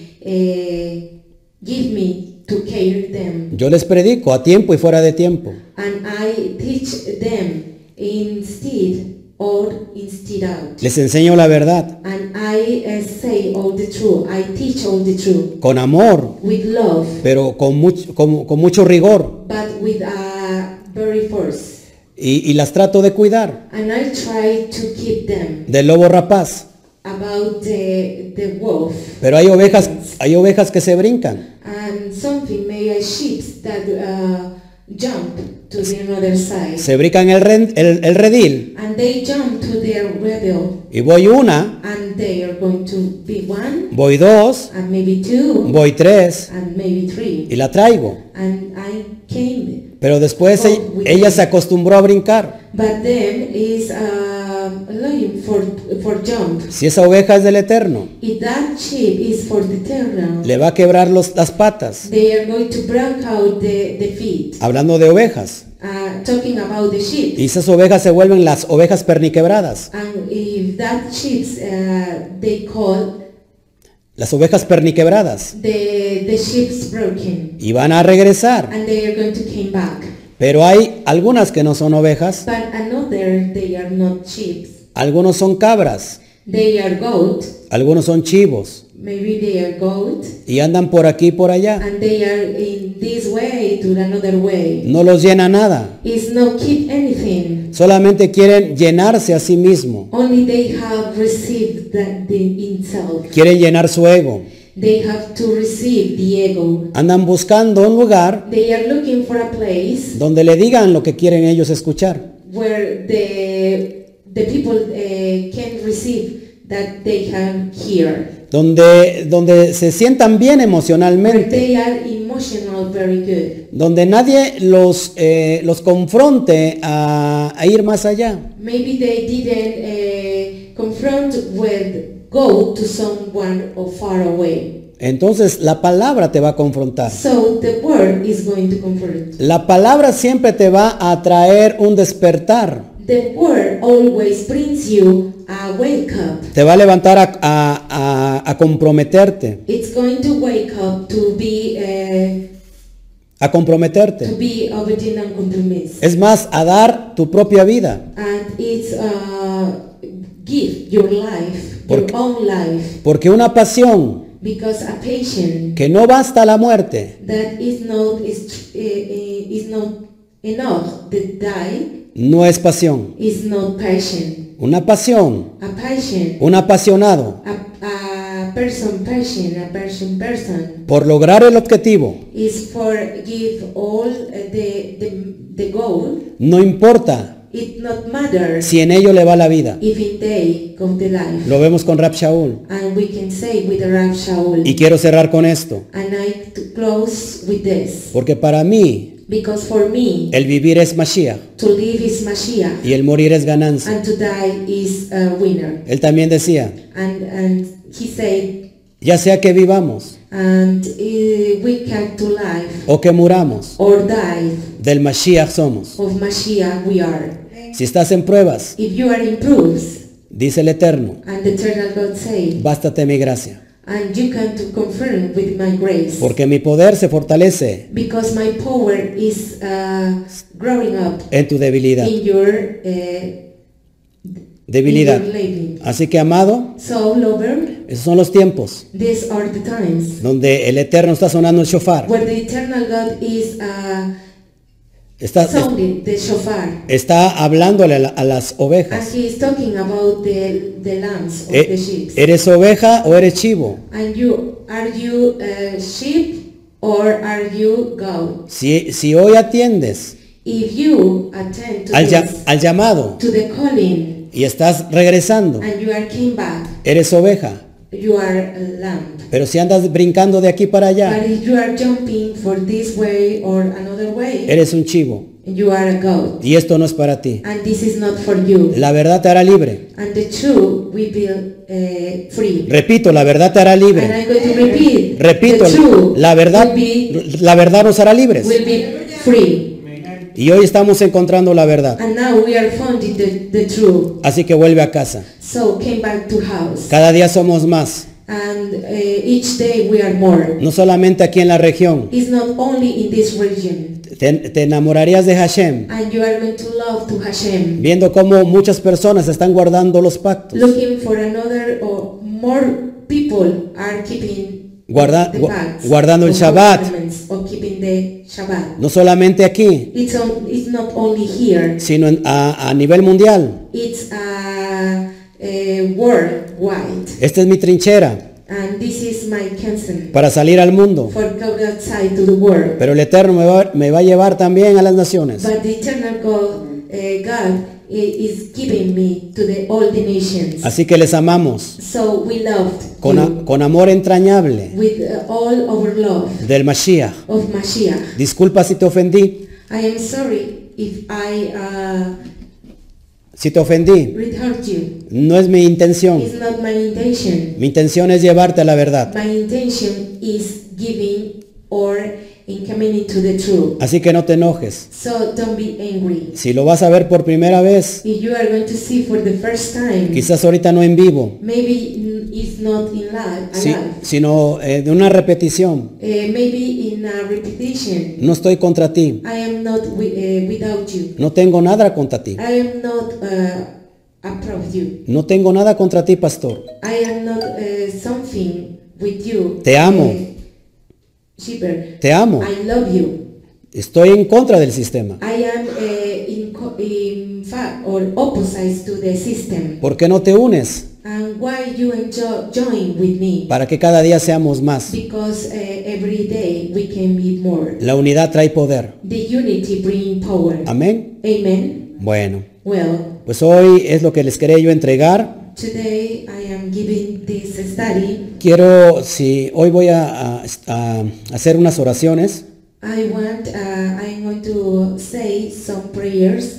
uh, give me to care them, Yo les predico a tiempo y fuera de tiempo. and I teach them instead or instead out, Les enseño la verdad and I uh, say all the truth. I teach all the truth con amor, with love, pero con mucho, con, con mucho rigor. but with a very force, Y, y las trato de cuidar and I try to keep them del lobo rapaz. about the the wolf. Pero hay ovejas, hay ovejas que se brincan. And something, maybe a sheep that uh, jump to the other side. Se brincan el, ren- el, el redil. And they jump to their rebel. Y voy una, And they are going to be one, voy dos, and maybe two, voy tres and maybe three. y la traigo. And I came. Pero después e- ella se acostumbró a brincar. But then is uh, looking for, for jump. Si esa oveja es del Eterno, If that sheep is for the eternal, le va a quebrar los, las patas. they are going to break out the, the feet. Hablando de ovejas. Uh, talking about the sheep. Y esas ovejas se vuelven las ovejas perniquebradas. And if that sheep uh, they call Las ovejas perniquebradas. the the sheep's broken, Y van a regresar. and they are going to came back. Pero hay algunas que no son ovejas. But another, they are not sheep. Algunos son cabras. They are goat. Algunos son chivos. Maybe they are goat, Y andan por aquí y por allá. and they are in this way to another way. No los llena nada. It's not keep anything. Solamente quieren llenarse a sí mismo. Only they have received that the itself. Quieren llenar su ego. They have to receive the ego. Andan buscando un lugar They are looking for a place donde le digan lo que quieren ellos escuchar. where the the people uh, can receive that they can hear. Donde, donde se sientan bien Where emocionalmente. they are emotional very good. Donde nadie los, eh, los confronte a, a ir más allá. Maybe they didn't uh, confront with go to someone or far away. Entonces la palabra te va a confrontar. So the word is going to confront. La palabra siempre te va a traer un despertar. The word always brings you a wake up. Te va a levantar a, a- a- a comprometerte. It's going to wake up to be uh, A comprometerte. to be obedient and compromise. Es más, a dar tu propia vida. And it's uh, give your life, Porque- your own life, Porque una pasión because a patient que no basta la muerte, that is not is uh, uh, is not enough to die no es pasión. is not patient. Una pasión, A patient, un apasionado a, a person patient, a person person por lograr el objetivo, is for give all uh, the, the the goal. no importa It not matters si en ello le va la vida. if in day come the life. Lo vemos con Rab Shaul. And we can say with the Rav Shaul. Y quiero cerrar con esto, And I to close with this. porque para mí Because for me, el vivir es Mashiach to live is Mashiach, y el morir es ganancia. and to die is a winner. Él también decía, And and he said, ya sea que vivamos and uh, we come to life o que muramos, or die, del Mashiach somos. of Mashiach we are. Si estás en pruebas, If you are in proofs, dice el Eterno, and the eternal God say, bástate mi gracia, and you can to confirm with my grace, porque mi poder se fortalece because my power is uh, growing up en tu debilidad. in your uh, Debilidad. in your living. Así que, amado, So, lover, esos son los tiempos these are the times donde el Eterno está sonando el shofar. where the eternal God is uh, Está, sounding the shofar. está hablándole a, la- a las And ovejas. he is talking about the, the lambs of E- the sheep. ¿Eres oveja o eres chivo? And you, are you a sheep or are you goat? Si, si hoy atiendes If you attend to al, ya- this, al llamado to the calling, y estás regresando, and you are came back, eres oveja. you are a lamb. Pero si andas brincando de aquí para allá, But if you are jumping for this way or another way, eres un chivo. you are a goat. Y esto no es para ti. And this is not for you. La verdad te hará libre. And the truth will be uh, free. Repito, la verdad te hará And libre. I'm going to repeat. Repito, the truth la verdad, will be, la verdad nos hará libres. will be free. Y hoy estamos encontrando la verdad. And now we are finding the, the truth. Así que vuelve a casa. So came back to house. Cada día somos más. And uh, each day we are more. No solamente aquí en la región. It's not only in this region. Te, te enamorarías de Hashem, And you are going to love to Hashem. viendo cómo muchas personas están guardando los pactos. Looking for another or more people are keeping Guarda- the gu- pacts guardando el of Shabbat. commandments, or keeping the Shabbat. No solamente aquí, It's, on, it's not only here. sino en- a, a nivel mundial. It's a, a worldwide. Esta es mi trinchera And this is my concern para salir al mundo. for go outside to the world. Pero el Eterno me va, me va a llevar también a las naciones. But the eternal God, uh, God i- is giving me to the all the nations. Así que les amamos So we loved con, you a- con amor entrañable with uh, all our love del Mashiach. of Mashiach. Disculpa si te ofendí. I am sorry if I uh, Si te ofendí, hurt you. no es mi intención. It's not my intention. Mi intención es llevarte a la verdad. My intention is giving or in coming into the truth. Así que no te enojes. So don't be angry. Si lo vas a ver por primera vez, If you are going to see for the first time, quizás ahorita no en vivo, maybe n- it's not in live, si- alive. sino eh, de una repetición. Uh, maybe in a repetition. No estoy contra ti. I am not wi- uh, without you. No tengo nada contra ti. I am not uh, above you. No tengo nada contra ti, pastor. I am not uh, something with you. Te amo. Uh, Shepherd. Te amo. I love you. Estoy en contra del sistema. I am uh, in, co- in fact or opposite to the system. ¿Por qué no te unes? And why you enjoy join with me? Para que cada día seamos más. Because uh, every day we can be more. La unidad trae poder. The unity bring power. Amén. Amen. Bueno, Well, pues hoy es lo que les quería yo entregar. today I am giving this study. Quiero, si hoy voy a, a- a hacer unas oraciones. I want, uh, I'm going to say some prayers.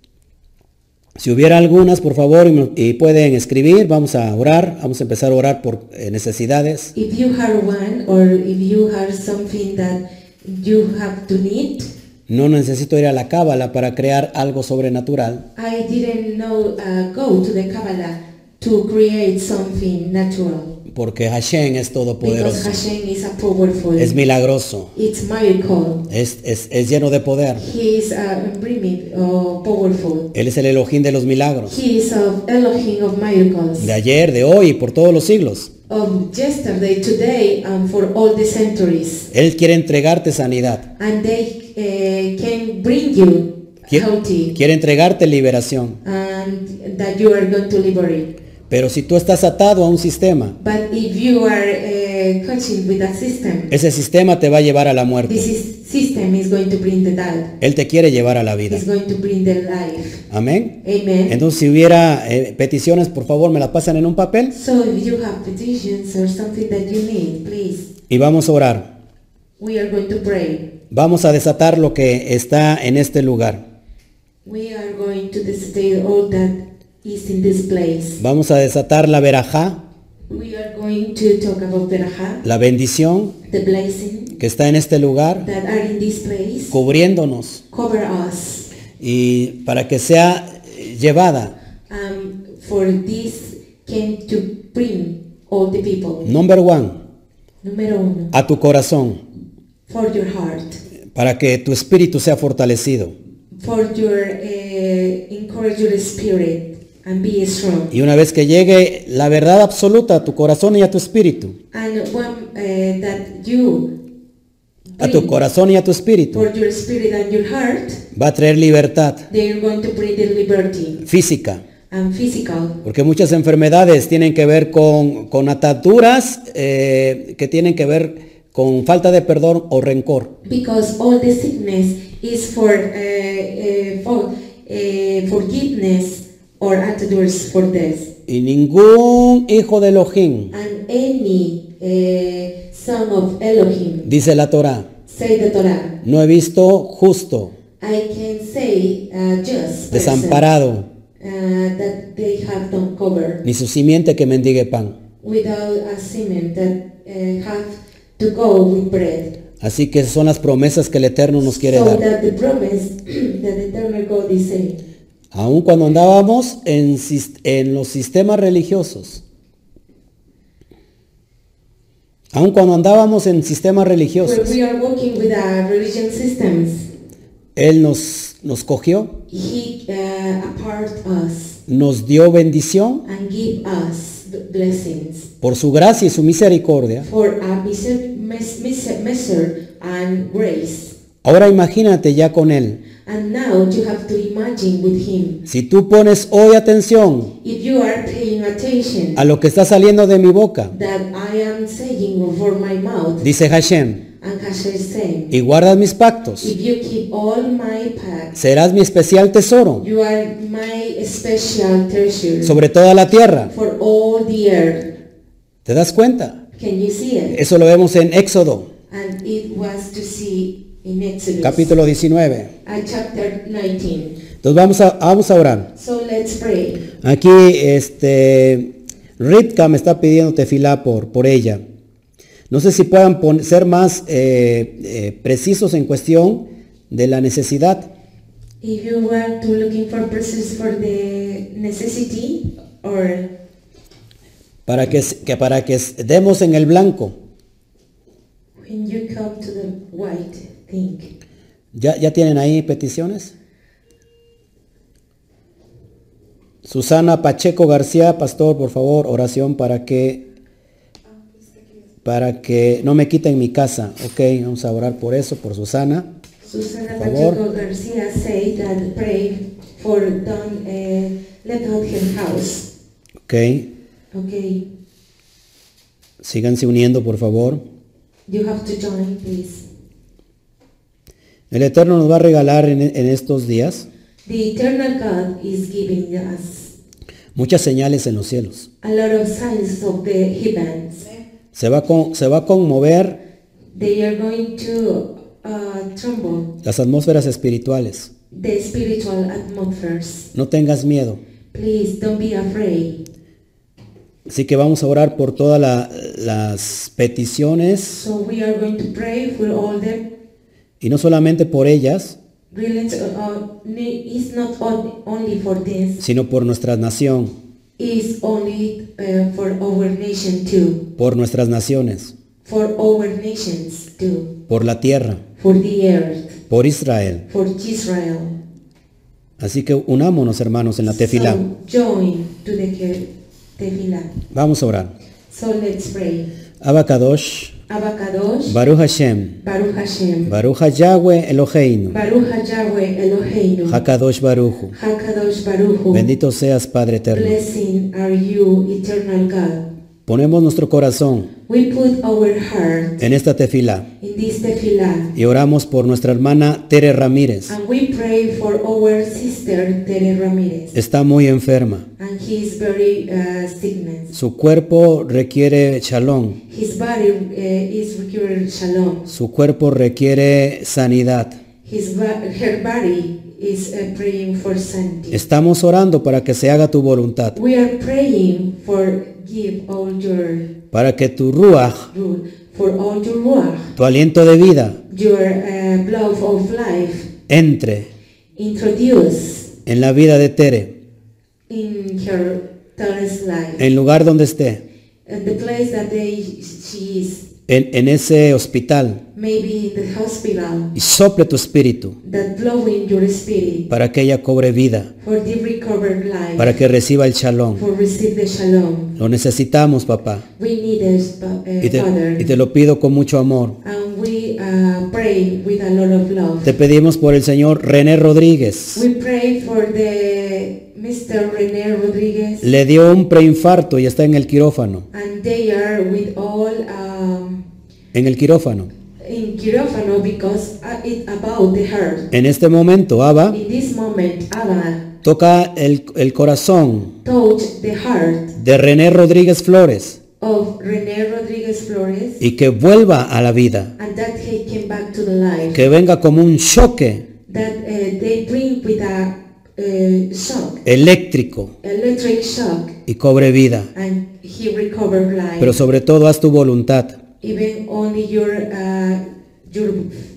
Si hubiera algunas, por favor, y, me- y pueden escribir, vamos a orar, vamos a empezar a orar por eh, necesidades. If you have one or if you have something that you have to need, No necesito ir a la cábala para crear algo sobrenatural, I didn't know, uh, go to the Kabbalah to create something natural. porque Hashem es Because todopoderoso, Hashem is a powerful, es milagroso, it's miracle. es, es, es lleno de poder. He is uh, brimming, uh, powerful. Él es el Elohim de los milagros, He is of Elohim of miracles. de ayer, de hoy y por todos los siglos. Of yesterday, today, and for all the centuries. Él quiere entregarte sanidad, And they uh, can bring you quiere, healthy quiere entregarte liberación. and that you are going to liberate. Pero si tú estás atado a un sistema, But if you are uh, coaching with a system, ese sistema te va a llevar a la muerte. this is, system is going to bring the death. Él te quiere llevar a la vida. It's going to bring the life. Amén. Amen. Entonces, si hubiera eh, peticiones, por favor, me las pasan en un papel So if you have petitions or something that you need, please, y vamos a orar. we are going to pray. Vamos a desatar lo que está en este lugar. We are going to display all that is in this place. Vamos a desatar la verajá, We are going to talk about the raha, la bendición the blessing que está en este lugar, that are in this place. cubriéndonos Cover us. y para que sea llevada. Um, for this came to bring all the people. Number one, Número uno, a tu corazón, for your heart, para que tu espíritu sea fortalecido. for your uh, encourage your spirit and be strong. Y una vez que llegue la verdad absoluta a tu corazón y a tu espíritu, And one uh, that you a tu clean corazón y a tu espíritu, for your spirit and your heart, va a traer libertad they are going to bring the liberty física. and physical. Porque muchas enfermedades tienen que ver con, con ataduras eh, que tienen que ver con falta de perdón o rencor. Because all the sickness is for uh, uh, for uh, forgiveness or attitudes for this. Y ningún hijo de Elohim, And any uh, son of Elohim, dice la Torá, say the Torah, no he visto justo, I can say uh, just person, desamparado, uh, that they have don't cover ni su simiente que mendigue pan. without a semen that uh, have to go with bread. Así que son las promesas que el Eterno nos quiere So dar. that the promise that the eternal God is saying. Aun cuando andábamos en, sis- en los sistemas religiosos, aun cuando andábamos en sistemas Where religiosos, we are working with our religion systems, Él nos, nos cogió, He uh, apart us nos dio bendición and give us the blessings por su gracia y su misericordia. for a measure, mes- mes- measure and grace. Ahora imagínate ya con Él. And now you have to imagine with Him. Si tú pones hoy atención If you are paying attention a lo que está saliendo de mi boca, that I am saying for my mouth, dice Hashem, and Hashem is saying, y guardas mis pactos, if you keep all my paths, serás mi especial tesoro you are my special treasure sobre toda la tierra. for all the earth. ¿Te das cuenta? Can you see it? Eso lo vemos en Éxodo, And it was to see in Exodus, capítulo diecinueve. uh, chapter nineteen. Entonces vamos a, vamos a orar. So let's pray. Aquí este, Ritka me está pidiendo tefilá por, por ella. No sé si puedan pon- ser más eh, eh, precisos en cuestión de la necesidad. If you want to looking for persons for the necessity or Para que, que para que demos en el blanco. when you come to the white thing. ¿Ya, ya tienen ahí peticiones? Susana Pacheco García, pastor, por favor, oración para que para que no me quiten mi casa. Ok, vamos a orar por eso, por Susana. Susana Por favor. Pacheco Garcia said that pray for don't uh, let out her house. Ok, Okay, síganse uniendo, por favor. you have to join, please. El Eterno nos va a regalar en, en estos días The eternal God is giving us muchas señales en los cielos. a lot of signs of the heavens. Se va, a con- se va a conmover They are going to uh, tremble las atmósferas espirituales. the spiritual atmospheres. No tengas miedo. Please don't be afraid. Así que vamos a orar por todas la- las peticiones So we are going to pray for all them. y no solamente por ellas, Really, uh, ne- it's not on- only for this. sino por nuestra nación, It's only uh, for our nation too. por nuestras naciones, For our nations too. por la tierra, For the earth. por Israel. For Israel. Así que unámonos, hermanos, en la tefilá. So join to the ke- tefillah. Vamos a orar. So let's pray. Abacadosh, Abakadosh. Baruch Hashem, Baruch Hashem. Baruch Yahweh Eloheinu, Baruch Yahweh Eloheinu. Hakadosh Baruchu. Hakadosh Baruch. Bendito seas, Padre eterno. Blessing are you, eternal God. Ponemos nuestro corazón We put our heart en esta tefilá in this tefillah. y oramos por nuestra hermana Tere Ramírez. And we pray for our sister Tere Ramirez. Está muy enferma. And he is very uh, sickness. Su cuerpo requiere shalom. His body uh, is required shalom. Su cuerpo requiere sanidad. His ba- her body is uh, praying for sanity. Estamos orando para que se haga tu voluntad, We are praying for give all your para que tu ruach, rule, for all your ruach, tu aliento de vida, your uh, blood of life, entre introduce en la vida de Tere, in her Tere's life, en lugar donde esté, and the place that they she is, en, en ese hospital, maybe in the hospital, y sople tu espíritu that blowing your spirit para que ella cobre vida, for the recovered life, para que reciba el shalom. for receive the shalom. Lo necesitamos, papá, We need this, uh, y te, Father, y te lo pido con mucho amor, and we uh, uh, pray with a lot of love. Te pedimos por el señor René Rodríguez. We pray for the Mister René Rodríguez, Le dio un preinfarto y está en el quirófano. and they are with all um, En el quirófano. in quirófano because uh, it's about the heart. En este momento, Abba, In this moment, Abba toca el, el corazón touch the heart de René Rodríguez Flores of René Rodríguez Flores, y que vuelva a la vida. and that he came back to the life. Que venga como un choque That uh, they bring with a uh, shock, eléctrico electric shock, y cobre vida. and he recovered life. Pero sobre todo, haz tu voluntad. Even only your uh, your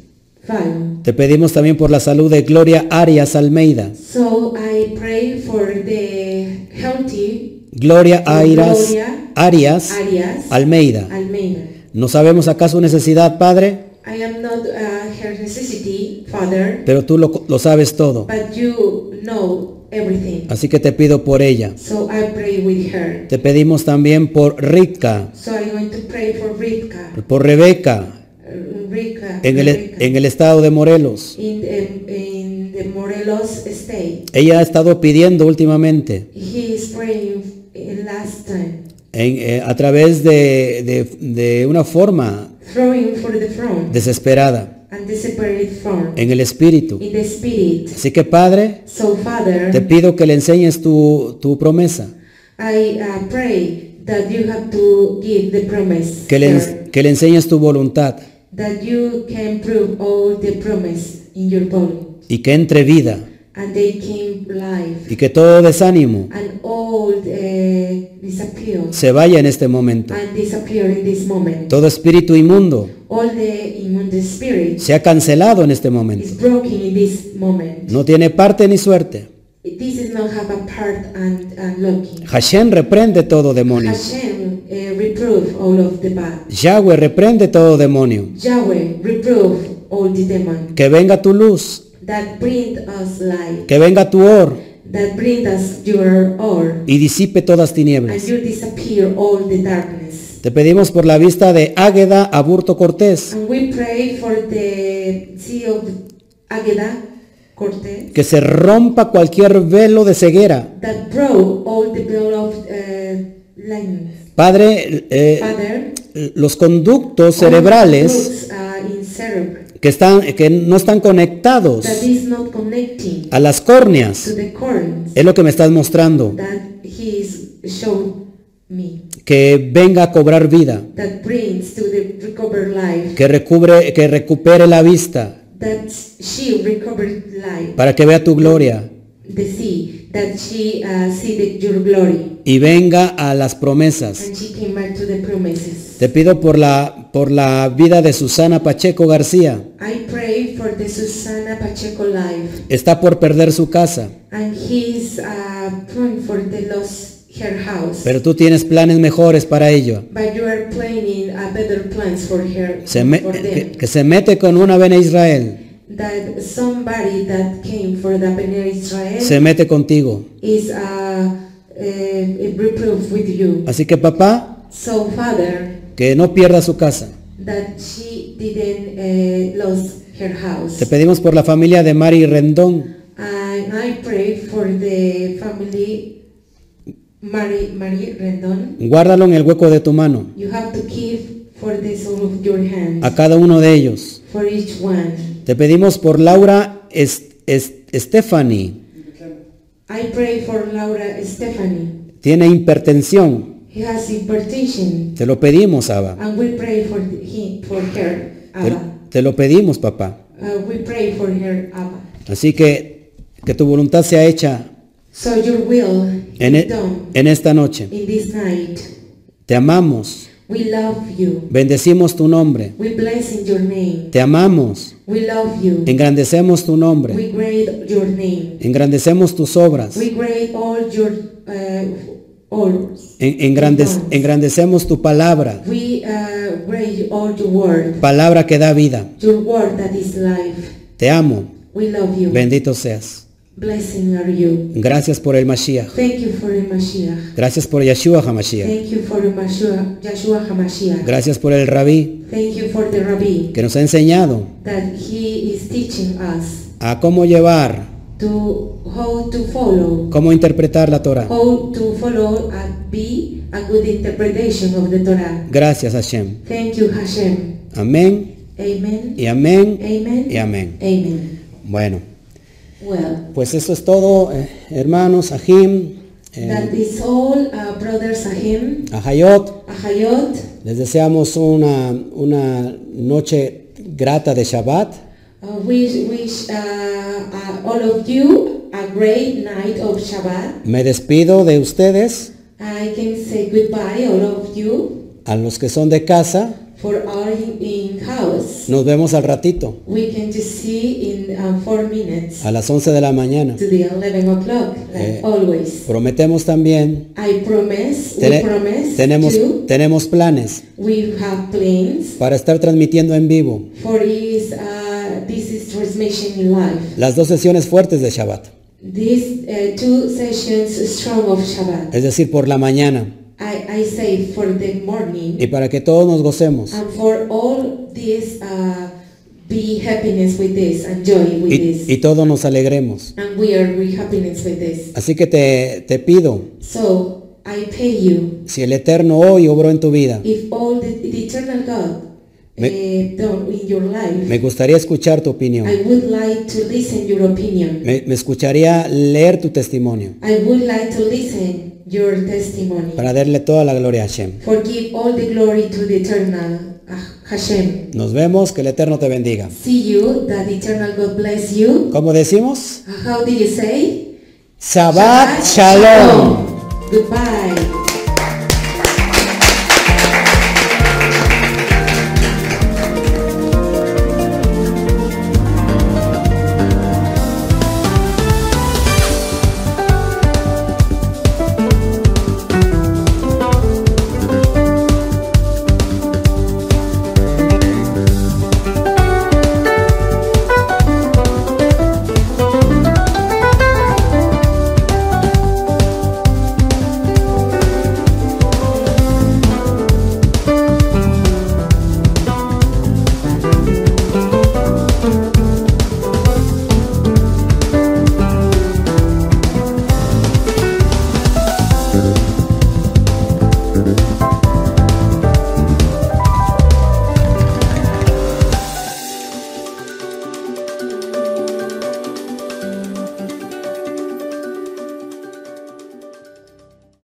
file. Te pedimos también por la salud de Gloria Arias Almeida. So I pray for the healthy Gloria Arias, Gloria Arias Arias Almeida. Almeida. No sabemos acaso su necesidad, Padre, I am not uh, her necessity, Father, pero tú lo, lo sabes todo. but you know everything. Así que te pido por ella. So I pray with her. Te pedimos también por Ritka, So I'm going to pray for Rivka, por Rebeca, uh, Rivka, en el, Rebecca, en el estado de Morelos. in, the, in the Morelos state. Ella ha estado pidiendo últimamente, He is praying in last time, en, eh, a través de, de, de una forma throwing for the throne desesperada, and the separate throne en el espíritu. in the spirit. Así que, Padre, So Father, te pido que le enseñes tu, tu promesa, I uh, pray that you have to give the promise, que le, Lord, que le enseñes tu voluntad that you can prove all the promise in your body, y que entre vida and they came life, y que todo desánimo and all uh, disappear, se vaya en este momento. and disappear in this moment. Todo espíritu inmundo All the immune spirit se ha cancelado en este momento. is broken in this moment. No tiene parte ni suerte. This is not have a part and, and lucky. Hashem reprende todo demonio. Hashem uh, reprove all of the bad. Yahweh reprende todo demonio. Yahweh reprove all the demon. Que venga tu luz, That bring us light. que venga tu or That bring us your or. y disipe todas And tinieblas. you disappear all the darkness. Te pedimos por la vista de Águeda Aburto Cortés, And we pray for the sea of Agueda Cortez. que se rompa cualquier velo de ceguera. That broke all the veil of uh, lines. Padre, eh, Father, los conductos cerebrales roots, uh, in cerebral que, están, que no están conectados that is not connecting a las to córneas, the corns es lo que me estás mostrando, that he is showed me, que venga a cobrar vida, that brings to the recovered life, que, recubre, que recupere la vista, that she recovered life, para que vea tu gloria the sea, that she uh, see the, your glory, y venga a las promesas. and she came back to the promises. Te pido por la, por la vida de Susana Pacheco García. I pray for the Susana Pacheco life, Está por perder su casa, and he's uh, praying for the lost her house. pero tú tienes planes mejores para ello. But you are planning a better plans for her, Se me- for que, them. que se mete con una Bene Israel, That somebody that came for the Bnei Israel se mete contigo. is uh, uh, reproof with you. Así que papá, So Father, que no pierda su casa. that she didn't uh, lose her house. Te pedimos por la familia de Mari Rendón. And I pray for the family, Mary, Mary Rendon. Guárdalo en el hueco de tu mano, You have to keep for the soul of your hand, a cada uno de ellos. for each one. Te pedimos por Laura Es- Es- Stephanie. I pray for Laura Stephanie. Tiene hipertensión. He has hypertension, Te lo pedimos, Abba. and we pray for him, for her, Te, Abba. te lo pedimos, papá. Uh, we pray for her, Abba. Así que que tu voluntad sea hecha So your will en, is e- done en esta noche. in this night. Te amamos. We love you. Bendecimos tu nombre. We bless in your name. Te amamos. We love you. Engrandecemos tu nombre. We grade your name. Engrandecemos tus obras. We grade all your uh, orders. En- engrandec- engrandecemos tu palabra. We uh, grade all your word. Palabra que da vida. Your word that is life. Te amo. We love you. Bendito seas. blessing are you. Gracias por el Mashiach. Thank you for the Mashiach. Gracias por Yeshua HaMashiach. Thank you for the Mashiach, Yeshua HaMashiach. Gracias por el Rabí Thank you for the Rabbi que nos ha enseñado that he is teaching us a cómo llevar, to how to follow, cómo interpretar la Torah. how to follow and be a good interpretation of the Torah. Gracias, Hashem. Thank you, Hashem. Amén Amen. y amén Amen. y amén. Amen. Bueno, Well, pues eso es todo, eh, hermanos, Ahim, that eh, is all, uh, brothers Ahim, Ahayot. Ahayot. Les deseamos una, una noche grata de Shabbat. Uh, we wish uh, uh, all of you a great night of Shabbat. Me despido de ustedes, I can say goodbye, all of you. a los que son de casa. For our in, in house, Nos vemos al ratito, we can just see in uh, four minutes a las once de la mañana. to the eleven o'clock, like Eh, always. Prometemos también, I promise, we tene- promise tenemos, to, tenemos planes we have plans para estar transmitiendo en vivo for is, uh, this is transmission in live. las dos sesiones fuertes de Shabbat, These uh, two sessions strong of Shabbat. es decir, por la mañana, I, I say for the morning y para que todos nos gocemos and for all this uh, be happiness with this and joy with y, this. y todos nos alegremos. And we are with happiness with this. Así que te, te pido, So I pay you si el Eterno hoy obró en tu vida, if all the, the eternal God Me- uh, done in your life. me gustaría escuchar tu opinión, I would like to listen your opinion. me, me escucharía leer tu testimonio, I would like to listen your testimony. para darle toda la gloria a Hashem. Forgive all the glory to the eternal uh, Hashem. Nos vemos, que el Eterno te bendiga. See you, that the eternal God bless you. ¿Cómo decimos? Uh, How do you say? Shabbat Shalom. Goodbye.